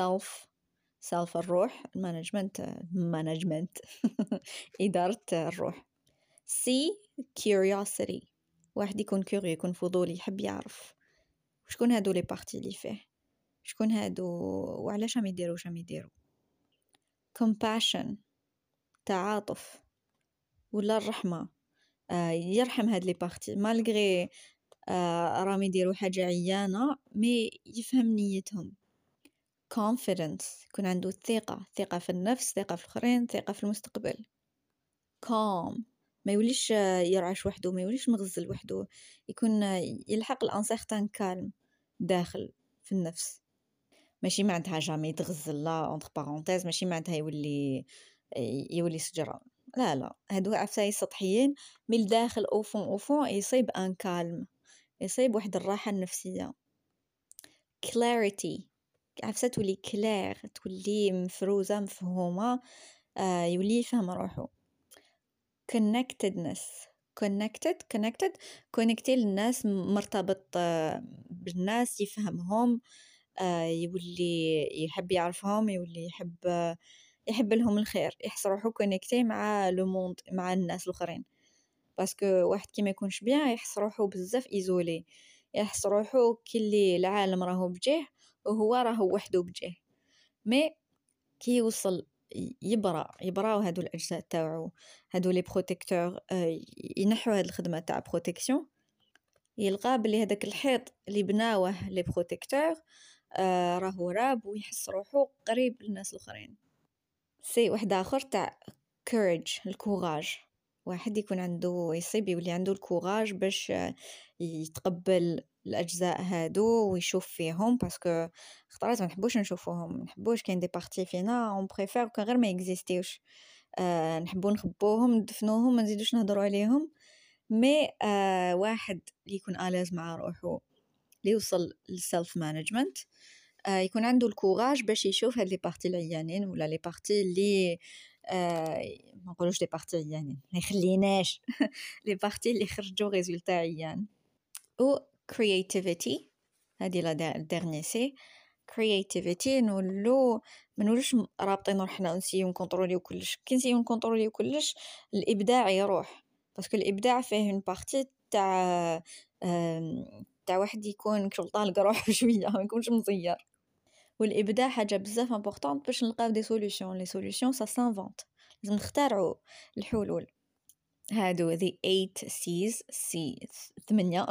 self الروح، management إدارة الروح. C curiosity، واحد يكون كوري، يكون فضولي، يحب يعرف شكون هادو لي بارتي اللي فيه، شكون هادو وعلاش راهم يديروا. compassion تعاطف ولا الرحمة، يرحم هاد لي بارتي مالغري راهم يديروا حاجة عيانة مي يفهم نيتهم. confidence يكون عنده ثقة في النفس، ثقة في الآخرين، ثقة في المستقبل. calm ما يوليش يرعش وحده، ما يوليش مغزل وحده، يكون يلحق الانسيغتان كالم داخل في النفس، ماشي معناتها جامي تغزل لا اونتر بارونتيز، ماشي معناتها يولي سجرة، لا هادو عفاي سطحيين، من الداخل اوفون يصيب ان كالم، يصيب واحد الراحة النفسية. clarity عفسة تولي كلير، تولي مفروزة مفهومة، يولي يفهم روحه. connected للناس، مرتبط بالناس، يفهمهم، يولي يحب يعرفهم، يولي يحب لهم الخير، يحس روحو كونيكتي مع لو موند، مع الناس الاخرين، باسكو واحد كي ما يكونش بيان يحس روحو بزاف ايزولي، يحس روحو كلي العالم راهو بجيه وهو راهو وحده بجيه. مي كي يوصل يبراو هادو الاجزاء تاعو، هادو لي بروتيكتور، ينحوا هاد الخدمه تاع بروتيكسيون، يلقى بلي هذاك الحيط اللي بناوه لي بروتيكتور راهو راب، ويحس روحو قريب للناس الاخرين. سي واحد اخر تاع courage، الكوراج، واحد يكون عنده يصيب يولي عنده الكوراج باش يتقبل الاجزاء هادو ويشوف فيهم، باسكو خطرات ما نحبوش نشوفوهم، ما نحبوش كاين دي بارتي فينا اون بريفير كان غير ما اكزيستيوش، نحبو نخبوهم ندفنوهم ما نزيدوش نهضروا عليهم. مي واحد اللي يكون آلاز مع روحو، اللي يوصل للسيلف مانجمنت، يكون عنده الكوراج باش يشوف هاد لي بارتي العيانين ولا لي بارتي اللي ما نقولوش لي بارتي عيانين، ما يخليناش لي بارتي اللي خرجوا ريزولتا عيان. و creativity هذه لا ديرني سي creativity، نولوش رابطين روحنا ونسيو نكونتروليو كلش، كي نسيو نكونتروليو كلش الابداع يروح، باسكو الابداع فيه اون بارتي تاع تاع واحد يكون كشغل طالق روحه شويه ما يكونش مزير. والابداع حاجه بزاف امبورطونط باش نلقاو دي سوليوشن. لي سوليوشن سا سانفونت، لازم نخترعوا الحلول. هادو the 8 C's، سي 8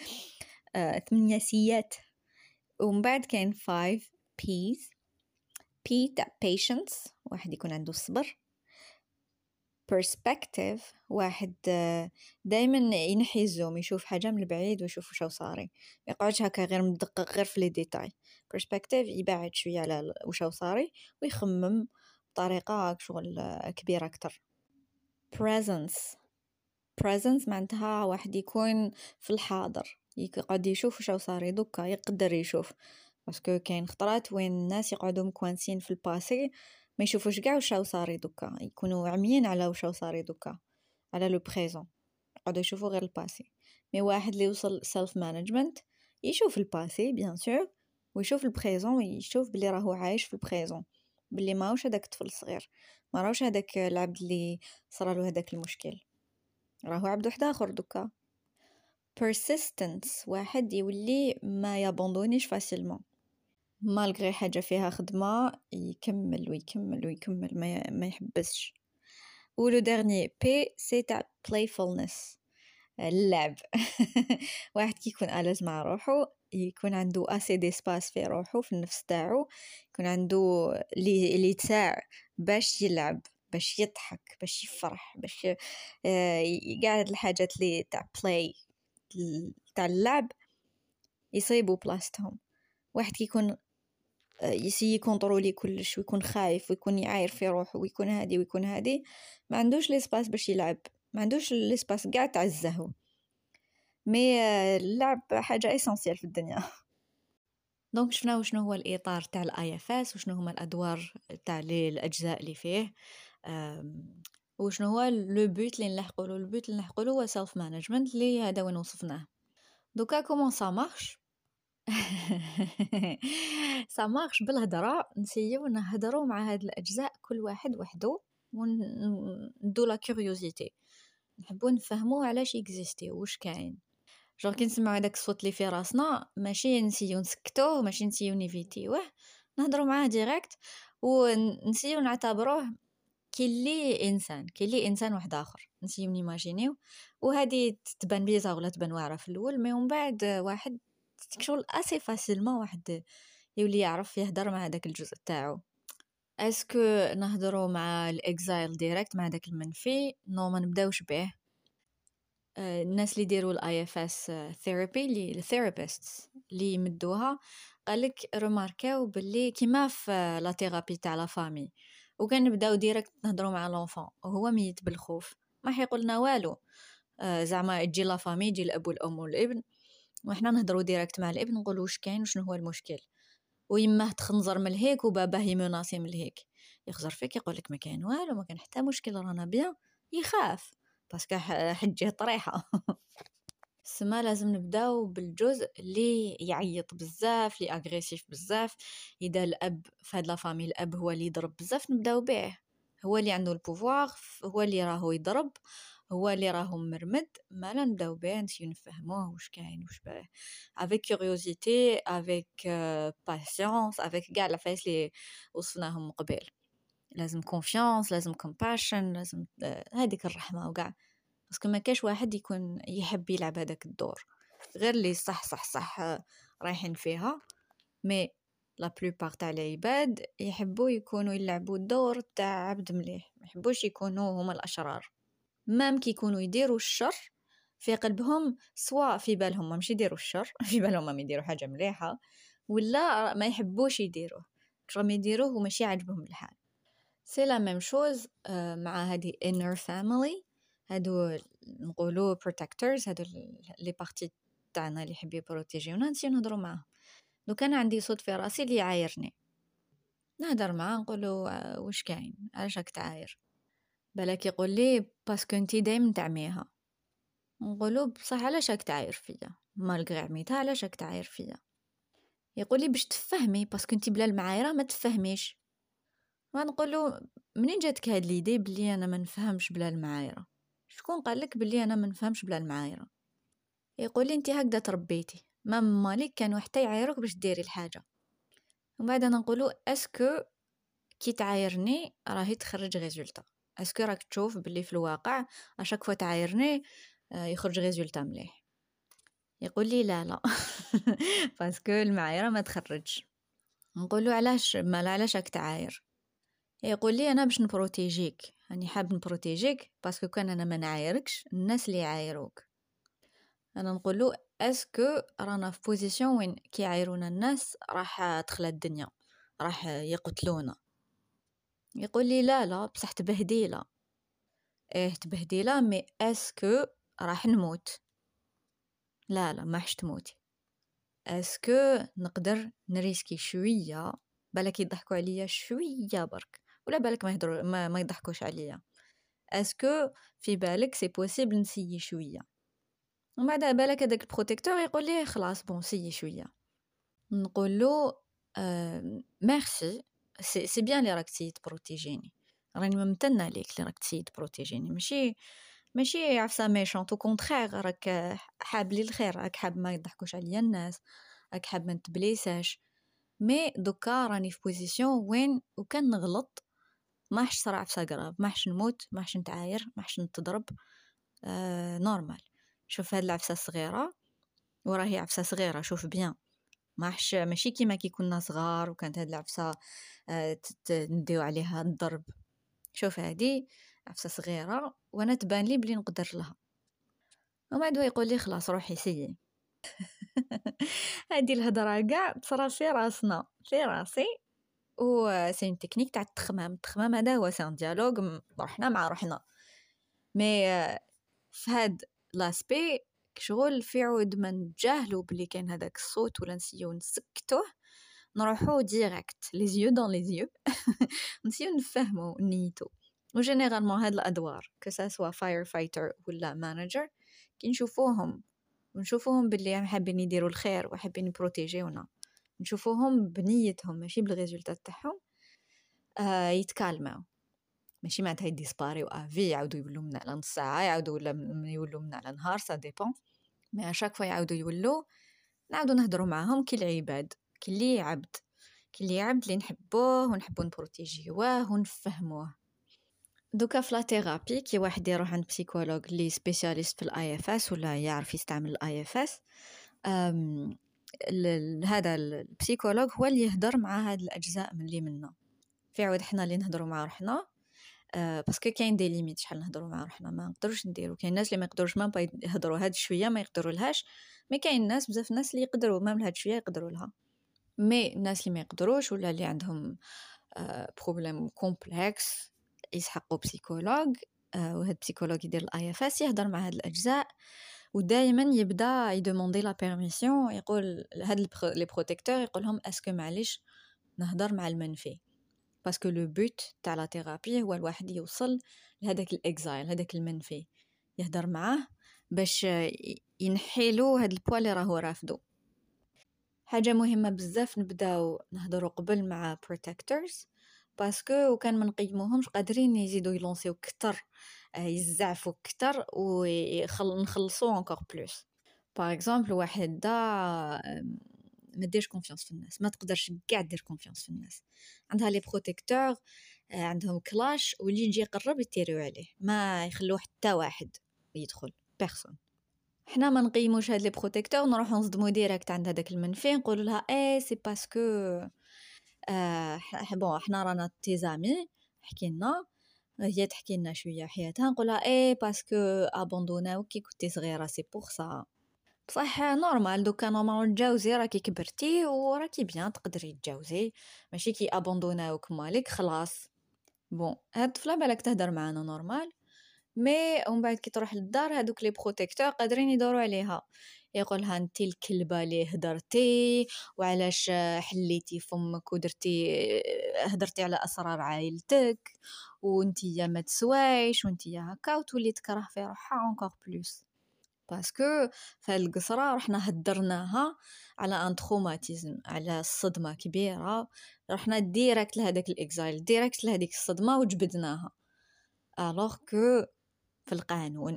8 سيات. ومن بعد كاين 5 P's. P تاع patience، واحد يكون عنده الصبر. perspective، واحد دايما ينحي الزوم، يشوف حاجة من البعيد ويشوف وشو صاري، ما يقعدش هكا غير مدقق غير في لي ديتاي. perspective يبعد شوية على وشو صاري ويخمم بطريقة شغل كبيرة أكتر. presence معناتها واحد يكون في الحاضر، يقعد يشوف وشو صاري دوكا، يقدر يشوف. باسكو كاين خطرات وين الناس يقعدوا مكوانسين في الباسي ما يشوفوش كاع وشو صاري دوكا، يكونوا عميين على وشو صاري دوكا، على لو بريزون، يقعدوا يشوفوا غير الباسي. مي واحد اللي يوصل سيلف مانجمنت يشوف الباسي بيان سور، ويشوف البريزون، ويشوف بلي راهو عايش في البريزون، بلي ماهوش هذاك الطفل الصغير، ما راهوش هذاك العبد اللي صرالو هذاك المشكل، راهو عبد واحد اخر دوكا. persistence، واحد يولي ما يابوندونيش فاسيلمون، مالغري حاجة فيها خدمة يكمل ويكمل ويكمل، ما يحبسش. ولو ديرني بي سي تاع playfulness، اللعب. واحد كيكون ألز مع روحه، يكون عنده اسي دي سباس في روحه في النفس تاعو، يكون عنده اللي تاع باش يلعب، باش يضحك، باش يفرح، باش قاعد الحاجات اللي تاع بلاي تاع اللعب يصيبوا بلاستهم. واحد كيكون يسي كونترولي كلش ويكون خايف ويكون يعاير في روحه ويكون هادي ويكون هادي، ما عندوش ليسباس باش يلعب، ما عندوش ليسباس قاع تاع الزهو. مي اللعب حاجه اسونسيال في الدنيا. دونك شفنا وشنو هو الاطار تاع الاي اف اس، وشنو هما الادوار تاع الاجزاء اللي فيه، وشنو هو لو بوت اللي نلحقوا له. البوت اللي نلحقوا له هو سيلف مانجمنت، اللي هذا وين وصفناه. دوكا كومون سا مارش. سا مارش بالهضره، نسيو نهضروا مع هاد الاجزاء كل واحد وحده، وندو لا كيوريوزيتي، نحبوا نفهموا علاش اكزيستي واش كاين. جور كي نسمعوا هذاك الصوت اللي في راسنا، ماشي نسيو نسكتوه، ماشي نسيو نيفيتيوه، نهضروا معاه ديريكت، ونسيو نعتبروه كي اللي انسان واحد اخر، نسيو نيماجينيو. وهذه تبان بيزا ولا تبان واعره في الاول، مي من بعد واحد شغل اسي فاسيلمون واحد يولي يعرف يهدر مع هذاك الجزء تاعو. اسكو نهضروا مع الاكزايل ديريكت، مع داك المنفي؟ نو، ما نبداوش به. الناس اللي يديروا الاي اف اس ثيرابي، اللي الثيرابيستس اللي يمدوها، قالك رماركاو باللي كيما في لا ثيرابي تاع لا فامي، وكان نبداو ديريكت نهضروا مع لونفون وهو ميت بالخوف، ما حيقولنا والو. زعما تجي لا فامي، يجي الاب والام والابن، وحنا نهضروا ديريكت مع الابن، نقولوا واش كاين وشنو هو المشكل. ويماه تخنزر من الهيك وباباه يمناسي من الهيك، يخزر فيك يقولك ما كاين والو، ما كان حتى مشكل، رانا بيان، يخاف باسكو حجه طريحه. سما لازم نبداو بالجزء اللي يعيط بزاف، اللي اغريسيف بزاف. اذا الاب في هاد لا فامي الاب هو اللي يضرب بزاف، نبداو به، هو اللي عنده البوفوار، هو اللي راهو يضرب، هو اللي راهو مرمد. ما لا نبداو به، نسيو نفهموه واش كاين واش باه، افيك كيوريوزيتي، افيك باسيونس، افيك كاع العفايس اللي وصفناهم قبل. لازم كونفيانس، لازم كومباشن، لازم هذيك الرحمه وكاع، باسكو ما كاش واحد يكون يحب يلعب هذاك الدور، غير اللي صح رايحين فيها. مي لا بلوبار تاع العباد يحبوا يكونوا يلعبوا الدور تاع عبد مليح، ما يحبوش يكونوا هما الاشرار. مام كي يكونوا يديروا الشر في قلبهم، سواء في بالهم ماشي يديروا الشر، في بالهم ما يديروا حاجه مليحه، ولا ما يحبوش يديروه، راهم يديروه وماشي عاجبهم الحال. سي لا ميم شوز مع هذه inner family، هادو نقولوا protectors، هادو لي بارتي تاعنا اللي يحب يبروتيجيونا، نسيو نهضروا معاهم. لو كان عندي صوت في راسي اللي يعايرني، نهضر معاه نقوله واش كاين، علاش راك تعاير؟ بالك يقول لي باسكو انتي دايما تعميها. نقوله بصح علاش راك تعاير فيا مالغري عميتها، علاش راك تعاير فيا؟ يقول لي باش تفهمي، باسكو انتي بلا المعايره ما تفهميش. ما نقوله منين جاتك هاد ليدي بلي انا ما نفهمش بلا المعايره؟ شكون قالك بلي انا ما نفهمش بلا المعايره؟ يقول لي انت هكذا تربيتي، مالك كانوا حتى يعايروك باش ديري الحاجه. ومن بعد انا نقولوا اسكو كي تعايرني راهي تخرج ريزولتا، اسكو راك تشوف باللي في الواقع اشاك فوا تعايرني يخرج ريزولتا مليح. يقول لي لا لا باسكو المعايره ما تخرج. نقول له علاش ما علاش راك تعاير؟ يقول لي انا باش نبروتيجيك، راني حاب نبروتيجيك باسكو كان انا ما نعايركش الناس اللي يعايروك. انا نقول له اسكو رانا في بوزيسيون وين كي يعايرونا الناس راح تخلى الدنيا، راح يقتلونا. يقول لي لا لا بصح تبهديله. ايه تبهديله مي اسكو راح نموت؟ لا لا ما حش تموتي. اسكو نقدر نريسكي شويه، بالك يضحكوا عليا شويه برك، ولا بالك ما يهضروا ما يضحكوش عليا. اسكو في بالك سي بوسيبل نسيي شويه؟ ومن بعد بالك هذاك البروتيكتور يقول لي خلاص بون سيي شويه. نقول له ميرسي، سي بيان لي راك تسيي تبروتيجيني، راني ممتنه ليك لي راك تسيي تبروتيجيني، ماشي عفسه ميشونط، او كونترير راك حاب لي الخير، راك حاب ما يضحكوش عليا الناس، راك حاب ما نتبليساش. مي دوكا راني في بوزيسيون وين وكان نغلط ما حش صرا عفسه قراب، ما حش نموت، ما حش نتعاير، ما حش نتضرب. نورمال. شوف هاد العفسه صغيره وراهي عفسه صغيره، شوف بيان ماشي كيما كي كنا صغار وكانت هاد العفسه نديو عليها الضرب. شوف هادي عفسه صغيره وانا تبان لي بلي نقدر لها. وما دو يقول لي خلاص روحي سيي. هادي الهضره كاع تصرا في راسنا في راسي، و سي اون تكنيك تاع التخمام هذا هو سان ديالوج روحنا مع روحنا. مي في هاد لاسبي شغل في عود ما نتجاهلوا بلي كان هذاك الصوت ولا نسيو نسكتوه، نروحو ديريكت لي زيو دون لي زيو نسيو نفهمو نيتو. وجينيرالمون هاد الادوار كو سوا فاير فايتر ولا مانجر كي نشوفوهم باللي حابين يديروا الخير وحابين يبروتيجيونا، نشوفوهم بنيتهم ماشي بالريزولطات تاعهم، يتكالماو، ماشي معناتها يديسباريو افي يعاودوا يولوا من على نص ساعه، يعاودوا ولا يولوا من على نهار، سا ديبون. مي اشاك فوا يعاودوا يولوا نعاودوا نهضروا معاهم كي العباد، كي اللي عبد، كي اللي عبد اللي نحبوه ونحبوا نبروتيجيوه ونفهموه. دوكا في لا ثيرابي كي واحد يروح عند بسيكولوج اللي سبيسياليست في الاي اف اس ولا يعرف يستعمل الاي اف اس، هذا البسيكولوج هو اللي يهضر مع هاد الاجزاء من اللي منا. في عود حنا اللي نهضروا مع روحنا، باسكو كاين دي ليميت شحال نهضروا مع روحنا ما نقدروش نديرو. كاين الناس اللي ما يقدروش ما يهضروا هاد شويه ما يقدروا لهاش، مي كاين ناس بزاف ناس اللي يقدروا ما هاد شويه يقدروا لها. مي الناس اللي ما يقدروش ولا اللي عندهم بروبليم كومبلكس يسحقوا بسيكولوج، وهاد بسيكولوج يدير الاي اف اس يهضر مع هاد الاجزاء، ودائما يبدا يدوموندي لا بيرميسيون، يقول هاد لي بروتيكتور يقول لهم اسكو معليش نهضر مع المنفي، باسكو لو بوت تاع لا ثيرابي هو الواحد يوصل لهداك الاكزايل، هداك المنفي يهضر معاه باش ينحيلو هاد البوا اللي راهو رافدو. حاجه مهمه بزاف نبداو نهضروا قبل مع protectors، باسكو وكان ما نقيموهمش قادرين يزيدوا يلونسيو كتر، يزعفوا كتر ونخلصوا encore plus. باغ اكزومبل واحد دا ما ديرش كونفيونس في الناس، ما تقدرش كاع دير كونفيونس في الناس، عندها لي بروتيكتور عندهم كلاش واللي يجي يقرب يتيريو عليه، ما يخلوه حتى واحد يدخل بيرسون. حنا ما نقيموش هاد لي بروتيكتور، نروحو نصدمو ديريكت عند هذاك المنفي نقولوا لها اي سي باسكو بون حنا رانا تيزامي حكينا، هي تحكي لنا شويه حياتها، نقولها اي باسكو ابوندوناو كي كنتي صغيره سي بور سا. بصح نورمال دوكا نورمال تجاوزي راكي كبرتي وراكي بيان تقدري تجاوزي، ماشي كي ابوندوناوك مالك خلاص. بون هاد الطفله بالك تهدر معانا نورمال، مي ومن بعد كي تروح للدار هادوك لي بروتيكتور قادرين يدوروا عليها، يقولها انتي الكلبه اللي هدرتي وعلاش حليتي فمك ودرتي هدرتي على اسرار عائلتك وانتي يا ما تسوايش وانتي يا هكا، وتولي تكره في روحها encore plus، باسكو في القصره رحنا هدرناها على ان تروماتيزم، على صدمه كبيره، رحنا ديريكت لهداك الاكزايل، ديريكت لهديك الصدمه وجبدناها. الوغ كو في القانون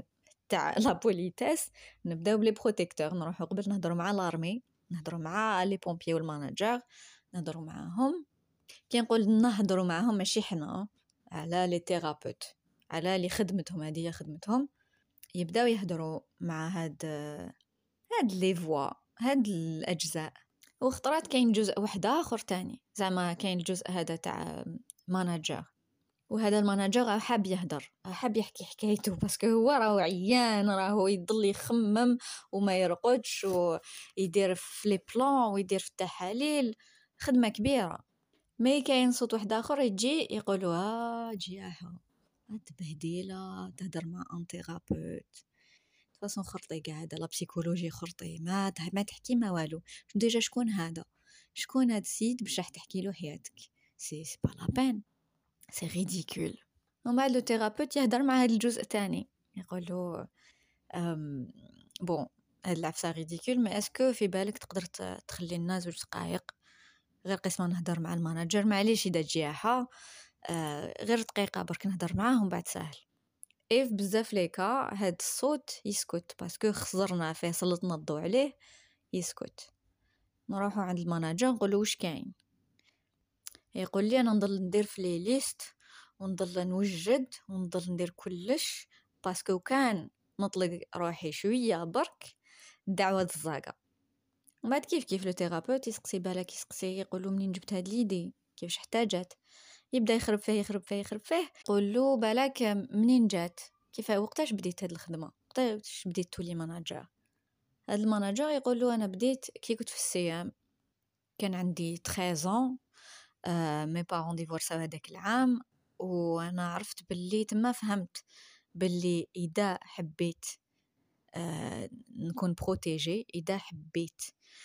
تاع لا بوليتيس نبداو بلي بروتيكتور، نروحو قبل نهضروا مع لارمي، نهضروا مع لي بومبيي والماناجر، نهضروا معاهم. كي نقول نهضروا معاهم ماشي حنا، على لي ثيرابيوت، على لي خدمتهم، هذه خدمتهم، يبداو يهضروا مع هاد لي فوا، هاد الاجزاء. وخطرات كاين جزء واحد اخر تاني، زعما كاين الجزء هذا تاع ماناجر، وهذا الماناجر حاب يهدر، حاب يحكي حكايته، باسكو هو راهو عيان، راهو يضل يخمم وما يرقدش ويدير في لي بلان ويدير في التحاليل، خدمه كبيره. مي كاين صوت واحد اخر يجي يقولوا جياحه، تبهديله تهدر مع ان ثيرابيوت، فاصون خرطي قاعده لا بسيكولوجي خرطي، ما تحكي ما والو. ديجا شكون هذا، شكون هاد السيد باش راح تحكي له حياتك؟ سي با لا بين، سي ريديكول. ومن بعد لو ثيرابيوت يهدر مع هذا الجزء الثاني، يقول له بون هاد العفسه ريديكول، ما اسكو في بالك تقدر تخلي لنا 2 دقائق غير قسما نهدر مع الماناجر، معليش اذا جياحه، غير دقيقه برك نهدر معاه ومن بعد ساهل. ايف بزاف ليكا هاد الصوت يسكت، باسكو خزرنا فيه، سلطنا الضوء عليه، يسكت. نروحو عند الماناجر نقولو واش كاين، يقول لي انا نضل ندير في لي ليست ونضل نوجد ونضل ندير كلش، باسكو كان نطلق روحي شويه برك الدعوه الزاقه. ومن بعد كيف لو ثيرابيوت يسقسي بالك، يسقسي يقولوا منين جبت هاد ليدي، كيفاش احتاجت، يبدا يخرب فيه يقول له بالك منين جات، كيف وقتاش بديت هاد الخدمه، وقتاش بديت تولي ماناجر. هاد الماناجر يقول له انا بديت كي كنت في السيام، كان عندي 13 مي بارون ديفورساو هذاك العام، وانا عرفت باللي تما فهمت باللي اذا حبيت نكون بروتيجي، اذا حبيت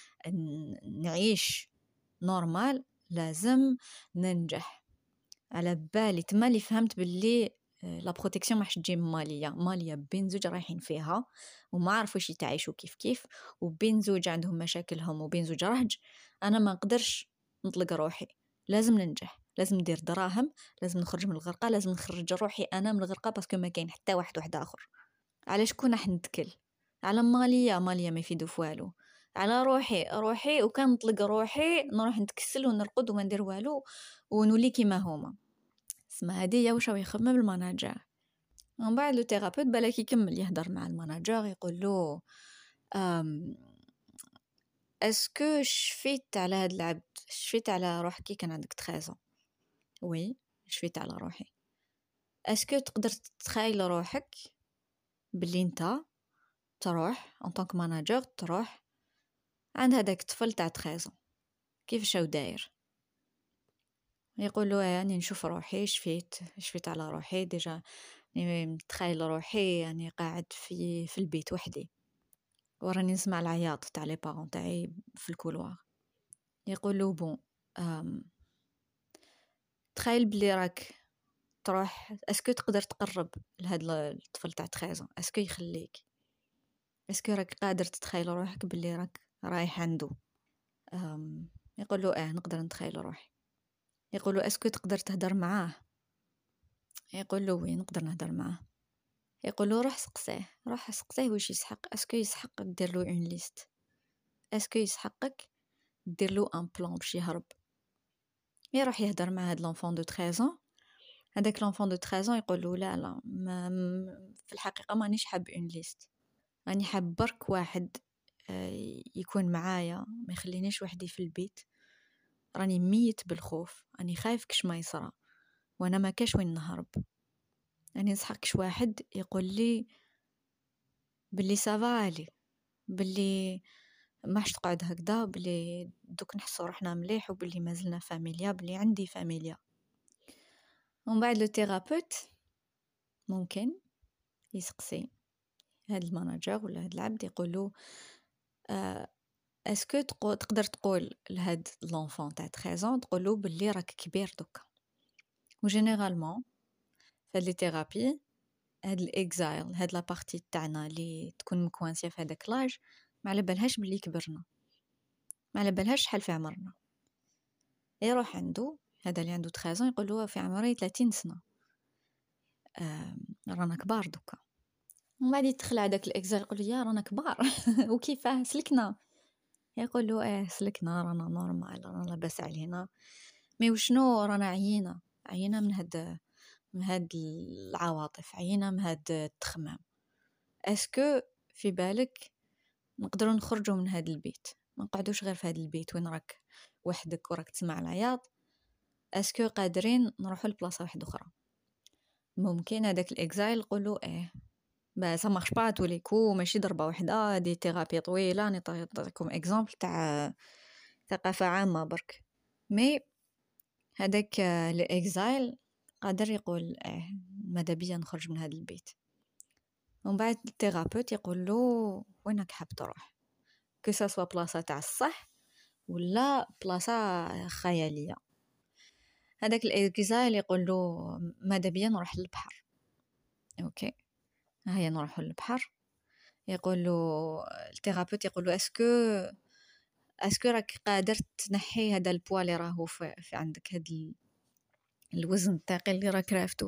نعيش نورمال لازم ننجح. على بالي تما اللي فهمت باللي لا بروتيكسيون ماحش تجي ماليه بين زوج رايحين فيها وما عرفوش يتعايشوا كيف وبين زوج عندهم مشاكلهم وبين زوج رهج، انا ما نقدرش نطلق روحي، لازم ننجح، لازم ندير دراهم، لازم نخرج من الغرقه، لازم نخرج روحي انا من الغرقه، باسكو ما كاين حتى واحد اخر. علاش كون راح نتكل على ماليه ما يفيدو فوالو، على روحي وكان نطلق روحي نروح نتكسل ونرقد وما ندير والو ونولي كيما هما. اسمها هديه واش راهو يخمم الماناجر. ومن بعد لو ثيرابيوت بالك يكمل يهدر مع الماناجر، يقول له اسكو شفيت على هاد العبد، شفيت على روحك كي كان عندك 13 وي شفيت على روحي. اسكو تقدر تتخيل روحك باللي انت تروح ان طونك ماناجر، تروح عند هذاك الطفل تاع 13 كيفاش هو داير؟ يقول له يعني نشوف روحي شفيت على روحي ديجا، يعني نتخيل روحي يعني قاعد في البيت وحدي وراني نسمع العياط تاع لي بارون تاعي في الكولوار. يقول له بون تخيل بلي راك تروح، اسكو تقدر تقرب لهاد الطفل تاع 13 اسكو يخليك، اسكو راك قادر تتخيل روحك بلي راك رايح عنده؟ يقول له نقدر نتخيل روحي. يقول له اسكو تقدر تهدر معاه؟ يقول له وي نقدر نهدر معاه. يقول له روح سقسيه واش يسحق، اسكو يسحق دير له اون ليست، اسكو يسحقك دير له ان بلان باش يهرب. يروح يهدر مع هاد لونفون دو 13 هذاك لونفون دو 13 يقول له لا في الحقيقه مانيش حاب اون ليست، راني حاب برك واحد يكون معايا، ما يخلينيش وحدي في البيت، راني ميت بالخوف، راني خايف كش ما يصرى وانا ما كاش وين نهرب. راني نسحقش واحد يقول لي باللي سافالي، باللي ماش تقعد هكذا، باللي دوك نحسو روحنا مليح وباللي مازلنا فاميليا، باللي عندي فاميليا. ومن بعد لو ثيرابيوت ممكن يسقسي هاد الماناجر ولا هاد العبد، يقولوا اسكو تقدر تقول لهاد لونفون تاع 13 تقولوا باللي راك كبير دوكا. وجينيرالمون فهاد لي ثيرابي، هاد الاكزايل، هاد لا بارتي تاعنا اللي تكون مكوانسيه في هذاك لاج، ما على بالهاش باللي كبرنا، ما على بالهاش شحال في عمرنا. يروح عنده هذا اللي عنده 13 يقول له في عمري 30 سنه، رانا كبار دوكا. ومن بعد يدخل هذاك الاكزال يقول له يا رانا كبار وكيفاه سلكنا، يقول له سلكنا رانا نورمال رانا لاباس علينا، مي وشنو رانا عيينا من هاد العواطف، عيينا من هاد التخمام. اسكو في بالك نقدروا نخرجوا من هاد البيت، ما نقعدوش غير في هاد البيت وين راك وحدك وراك تسمع العياط؟ اسكو قادرين نروحوا لبلاصه واحده اخرى؟ ممكن هذاك الاكزايل يقولوا با سا مارش با تو لي كو، ماشي ضربه واحده، دي ثيرابي طويله. نعطيكم اكزامبل تاع ثقافه عامه برك. مي هذاك الاكزايل قادر يقول ماذا بيا نخرج من هذا البيت. ومن بعد الثيرابيوت يقول له وينك حاب تروح، كو سا سوا بلاصه تاع الصح ولا بلاصه خياليه. هذاك الاكزايل يقول له ماذا بيا نروح للبحر. اوكي هيا نروح للبحر. يقول له الثيرابيوت يقول له اسكو راك قادر تنحي هذا البوا اللي راهو في عندك، هذا الوزن الثقيل اللي راك رافدو،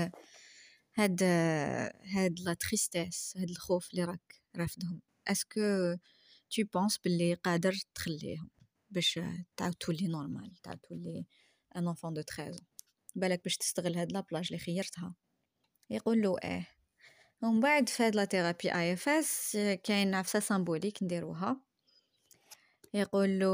هاد لا تريستيس، هاد الخوف اللي راك رافدهم، اسكو tu penses باللي قادر تخليهم باش تعاود تولي نورمال، تعاود تولي ان enfant de 13 بالك باش تستغل هاد لابلاج اللي خيرتها؟ يقول له ومن بعد في هاد لا ثيرابي اي اف اس كاين عفسه سامبوليك نديروها. يقول له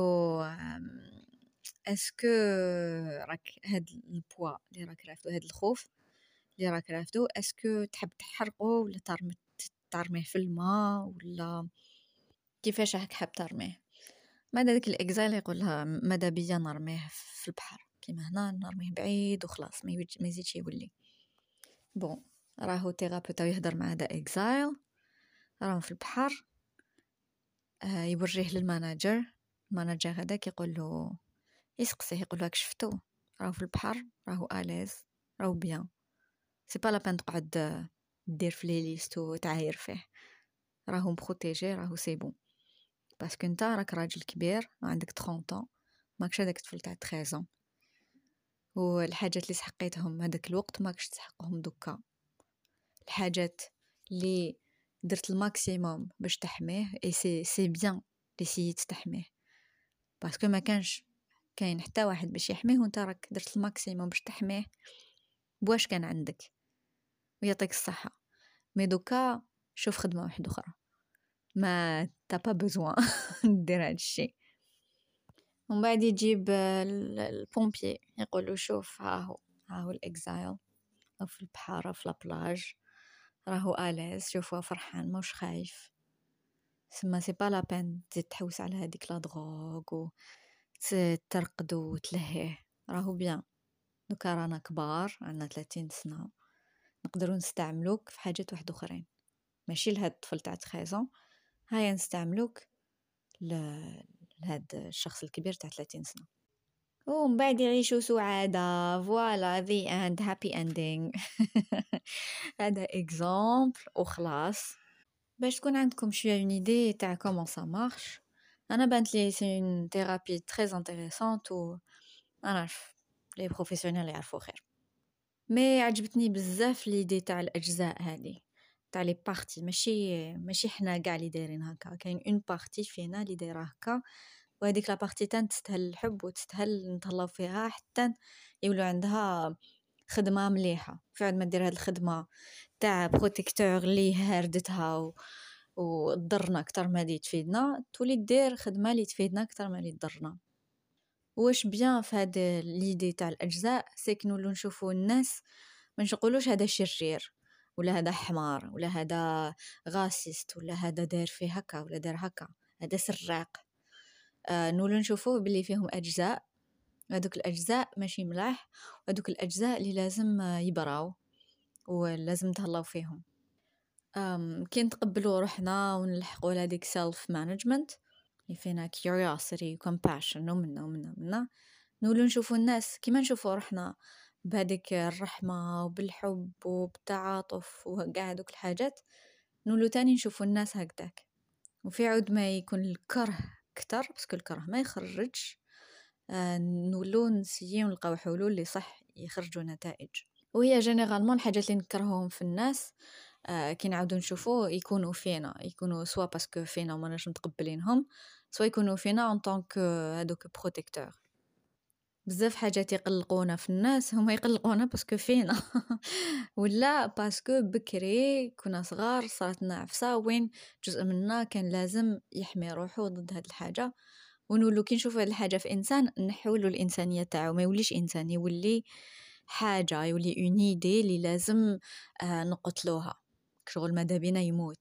اسكو راك هاد البوا اللي راك رافدو، هاد الخوف اللي راك رافدو، اسكو تحب تحرقه ولا ترميه في الماء، ولا كيفاش راك حاب ترميه؟ ماذا داك الاكزايل يقولها ماذا بيا نرميه في البحر كيما هنا، نرميه بعيد وخلاص ما يزيدش يولي. بون راهو ثيرابيوت يهضر مع هذا اكزايل، راهم في البحر. يوريه للماناجر. الماناجر هذاك يقول له، يسقسيه يقول له شفتو راهو في البحر، راهو اليز، راهو بيان، سي با لا بان تقعد دير في لي ليست وتعاير فيه، راهو بروتيجي، راهو سي بون، باسكو نتا راك راجل كبير عندك 30 طون، ماكش هذاك الطفل تاع 13 والحاجات اللي سحقيتهم هذاك الوقت ماكش تسحقهم دوكا. الحاجات اللي درت الماكسيموم باش تحميه اي سي بيان لي سيت تحميه، باسكو ما كانش كاين حتى واحد باش يحميه وانت راك درت الماكسيموم باش تحميه بواش كان عندك، ويعطيك الصحة. مي دوكا شوف خدمة واحدة أخرى، ما تا با بوزوان دير هاد الشيء. ومن بعد يجيب البومبيي يقول له شوف ها هو الاكزايل في البحر في لابلاج، راهو اليز، شوفوا فرحان موش خايف، سما سي با لا بين تزيد تحوس على هذيك لا دروغ وترقد وتلهيه، راهو بيان. دوكا رانا كبار عندنا 30 سنة، نقدروا نستعملوك في حاجات واحد اخرين، ماشي لهاد الطفل تاع 13 هيا نستعملوك لهاد الشخص الكبير تاع 30 سنة. ومن بعد يعيشوا سعادة، فوالا the end happy ending. هذا اكزامبل وخلاص باش تكون عندكم شويه اون ايدي تاع كومون سا مارش. انا بانت لي سي اون ثيرابي تري انتريسونت و انا نعرف لي بروفيسيونيل يعرفوا خير. مي عجبتني بزاف ليدي تاع الاجزاء هذه تاع لي بارتي، ماشي حنا كاع اللي دايرين هكا، كاين اون بارتي فينا اللي دايره هكا، وهذيك لا بارتي تستاهل الحب وتستاهل نتهلاو فيها حتى يولوا عندها خدمه مليحه. فعد ما دير هاد الخدمه تاع بروتيكتور اللي هاردتها وتضرنا اكثر ما اللي تفيدنا، تولي دير خدمه اللي تفيدنا اكثر ما اللي تضرنا. واش بيان في هذا ليدي تاع الاجزاء سيك نولو نشوفوا الناس ما نقولوش هذا شرير ولا هذا حمار ولا هذا غاسيست ولا هذا داير فيه هكا ولا داير هكا، هذا سراق. نولو نشوفوه باللي فيهم اجزاء، هذوك الاجزاء ماشي ملاح، وهذوك الاجزاء اللي لازم يبراو ولازم تهلاو فيهم. كي نتقبلوا روحنا ونلحقوا لهذيك سيلف مانجمنت اللي فينا curiosity compassion ومنا نولو نشوفوا الناس كيما نشوفوا روحنا، بهذيك الرحمة وبالحب وبالتعاطف وكاع هذوك الحاجات، نولو تاني نشوفوا الناس هكذاك. وفي عود ما يكون الكره كتر، باسكو الكره ما يخرجش، نولو نسيو نلقاو حلول اللي صح يخرجوا نتائج. وهي جينيرالمون الحاجات اللي نكرههم في الناس كي نعاودو نشوفوه يكونوا فينا، يكونوا سوا باسكو فينا وماناش متقبلينهم، سوا يكونوا فينا en tant que هادوك protecteur. بزاف حاجات يقلقونا في الناس هما يقلقونا باسكو فينا ولا باسكو بكري كنا صغار صارت لنا عفسه وين جزء منا كان لازم يحمي روحه ضد هاد الحاجه، ونولو كي نشوفو هاد الحاجه في انسان نحولو الانسانيه تاعو، ما يوليش انسان، يولي حاجه، يولي اون ايدي اللي لازم نقتلوها، شغل ماذا بينا يموت.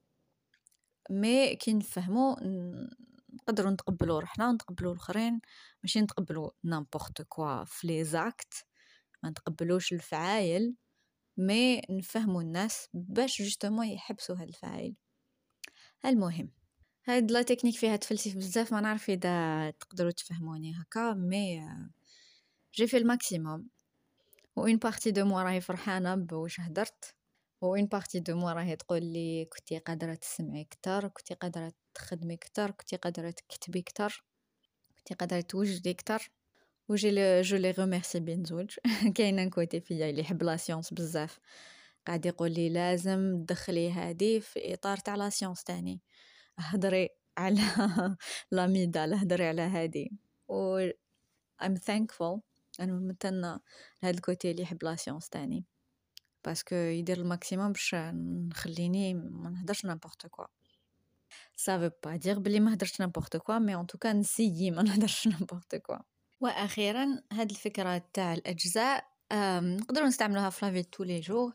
مي كي نفهمو نقدروا نتقبلوا روحنا ونتقبلوا الاخرين، ماشي نتقبلوا نامبورط كوا في لي زاكت، ما نتقبلوش الفعايل، مي نفهموا الناس باش جوستومون يحبسوا هاد الفعايل. المهم هاد لا تكنيك فيها تفلسف بزاف، ما نعرف اذا تقدروا تفهموني هكا، مي جي في الماكسيموم، و اون بارتي دو موا راهي فرحانه بواش هدرت، و اون بارتي دو موا راهي تقول لي كنتي قادره تسمعي كتر، كنتي قادره تخدمي كتر، كنتي قادره تكتبي كتر، كنتي قادره توجدي كتر. جو لي ريميرسي بين زوج كاين كوتي فيا اللي يحب لا سيونس بزاف، قاعد يقول لي لازم تدخلي هذه في اطار تاع لا سيونس تاني، هضري على لاميدال، هضري على هذه، و I'm thankful، انا ممتنه لهذا الكوتي اللي يحب لا سيونس تاني، باسكو يدير الماكسيموم باش نخليني ما نهدرش نابورت كوا. ça veut pas dire بلي ما هدرش نابورت كوا، مي en tout cas نسيي ما نهدرش نابورت كوا. واخيرا هاد الفكره تاع الاجزاء نقدروا نستعملوها في لافي تو لي جور،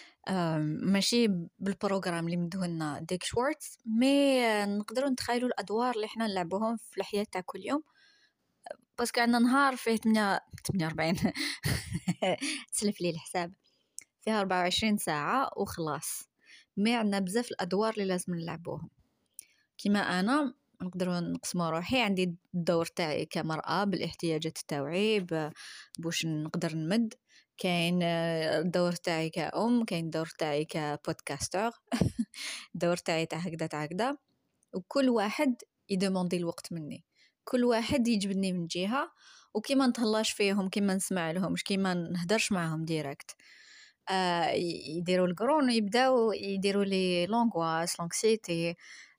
ماشي بالبروغرام اللي مدهولنا ديك شوارتز، مي نقدروا نتخيلوا الادوار اللي احنا نلعبوهم في الحياه تاع كل يوم، باسكو عندنا نهار فيه 48 تسلف لي الحساب، فيها 24 ساعه وخلاص، مي عندنا بزاف الادوار اللي لازم نلعبوهم. كيما انا نقدر نقسم روحي، عندي الدور تاعي كمرأة بالاحتياجات التوعي باش نقدر نمد، كاين الدور تاعي كأم، كاين الدور تاعي كبودكاستر الدور تاعي تاع هكذا، وكل واحد يدموندي الوقت مني، كل واحد يجبدني من جهة، وكيما نتهلاش فيهم، كيما نسمع لهم، مش كيما نهدرش معهم ديريكت، يديروا القرون ويبداو يديروا لي لونغواس لونكسيتي،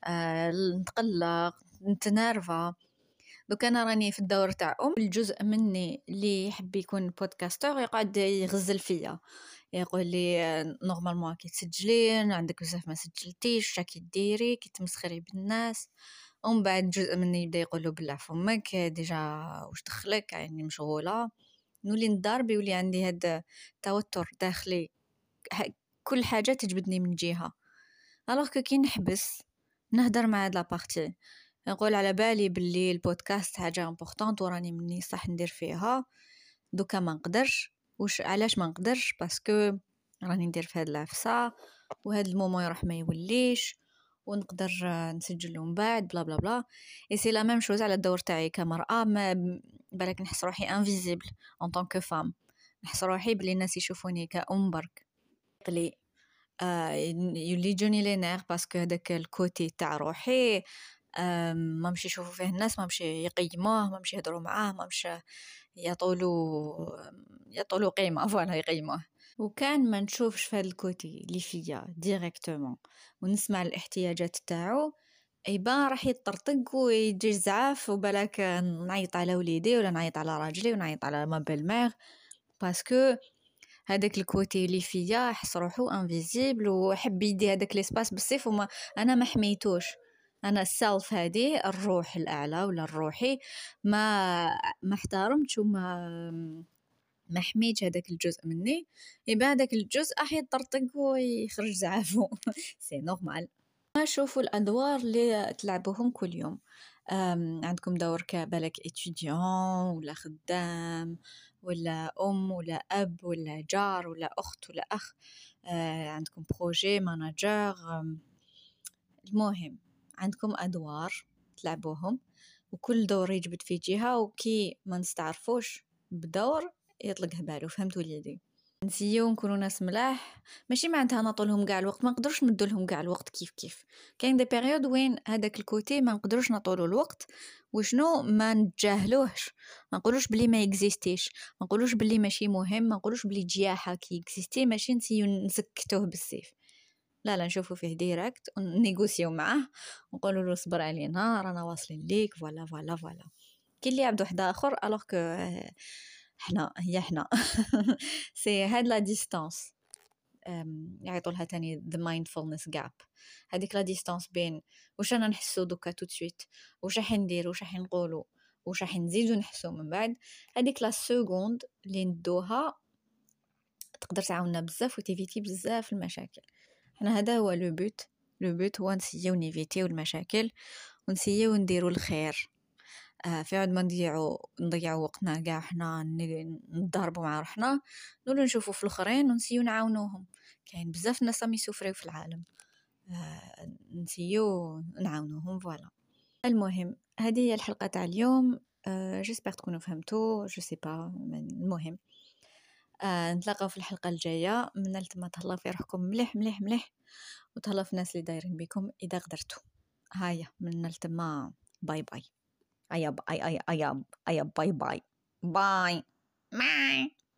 نتقلق نتنرفا. دوك انا راني في الدور تاع الجزء مني اللي يحب يكون بودكاستر يقعد يغزل فيا، يقول لي نورمالمون كي تسجلين عندك بزاف ما سجلتيش، راكي ديري كي تمسخري بالناس، ومن بعد جزء مني يبدا يقول له بالله فمك ديجا واش دخلك، يعني مشغوله، نولي نضارب، يولي عندي هذا توتر داخلي، كل حاجه تجبدني من جهه. الوغ كي نحبس نهدر مع هاد لابارتي، نقول على بالي باللي البودكاست حاجه امبورطونط وراني مني صح ندير فيها، دوكا ما نقدرش. وش علاش ما نقدرش؟ باسكو راني ندير في هاد العفسه، وهاد المومون يروح ما يوليش، ونقدر نسجل من بعد بلا بلا بلا. اي سي لا ميم شوز على الدور تاعي كمرأة، ما بالك نحس روحي انفيزيبل ان طونك فام، نحس روحي بلي الناس يشوفوني كأم برك، قلي يولي جوني لي نير، باسكو هذاك الكوتي تاع روحي ما مشي يشوفوا فيه الناس، ما مشي يقيموه، ما مشي يهضروا معاه، ما مشي يطولوا قيمه فوالا يقيموه. وكان ما نشوفش في هذا الكوتي اللي فيا ديريكتومون ونسمع الاحتياجات تاعو، ايبا راح يطرطق ويجي زعاف، وبالك نعيط على وليدي ولا نعيط على راجلي ونعيط على ما بيل، باسكو هذاك الكوتي اللي فيا حس روحو انفيزيبل، وحب يدي هذاك ليسباس بالسيف، وما انا ما حميتوش. انا السلف هذه الروح الاعلى ولا الروحي ما احترمتش ما حميتش هذاك الجزء مني، يبقى هذاك الجزء راح يطرطق ويخرج زعافو سي نورمال. شوفوا الادوار اللي تلعبوهم كل يوم، عندكم دور كبالك étudiant ولا خدام ولا أم ولا أب ولا جار ولا أخت ولا أخ، عندكم بروجي ماناجر، المهم عندكم أدوار تلعبوهم، وكل دور يجبد في جهة، وكي ما نستعرفوش بدور يطلق بالو. فهمتوا لي؟ نسيو نكونوا ناس ملاح، ماشي معناتها نطولهم كاع الوقت، ما نقدرش ندولهم كاع الوقت كيف كاين دي بيريود وين هذاك الكوتي ما نقدرش نطولوا الوقت، وشنو ما نتجاهلوهش، ما نقولوش بلي ما يكزيستيش، ما نقولوش بلي ماشي مهم، ما نقولوش بلي جياحه كي يكزيستي ماشي نسيو نسكتوه بالسيف، لا نشوفو فيه ديريكت ونيغوسيو معاه ونقولوا له صبر علينا رانا واصلين ليك فوالا فوالا فوالا. كي اللي عبد واحد اخر الوغ كو حنا سي هاد لا ديستانس يعيطوا لها تاني the mindfulness gap. هذيك لا ديستانس بين واش انا نحسو دوكا تو سويت، واش راح ندير، واش راح نقولوا، واش راح نزيدو نحسو من بعد. هذيك لا سكوند اللي ندوها تقدر تعاوننا بزاف وتيفيتي بزاف المشاكل. حنا هذا هو لو بوت هو نسيو نيفيتيو المشاكل ونسيو نديرو الخير. في عود ما نضيعوا وقتنا كاع حنا نضربوا مع روحنا، نولو نشوفوا في الاخرين ونسيو نعاونوهم. كاين بزاف ناس راهم يسوفريو في العالم، نسيو نعاونوهم فوالا. المهم هذه هي الحلقه تاع اليوم. جيسبر تكونوا فهمتوا جو سي با. المهم نتلاقاو في الحلقه الجايه. من التما تهلاو في روحكم مليح مليح مليح، وتهلاو في الناس اللي دايرين بكم اذا قدرتوا. هيا من التما باي باي. باي باي باي باي.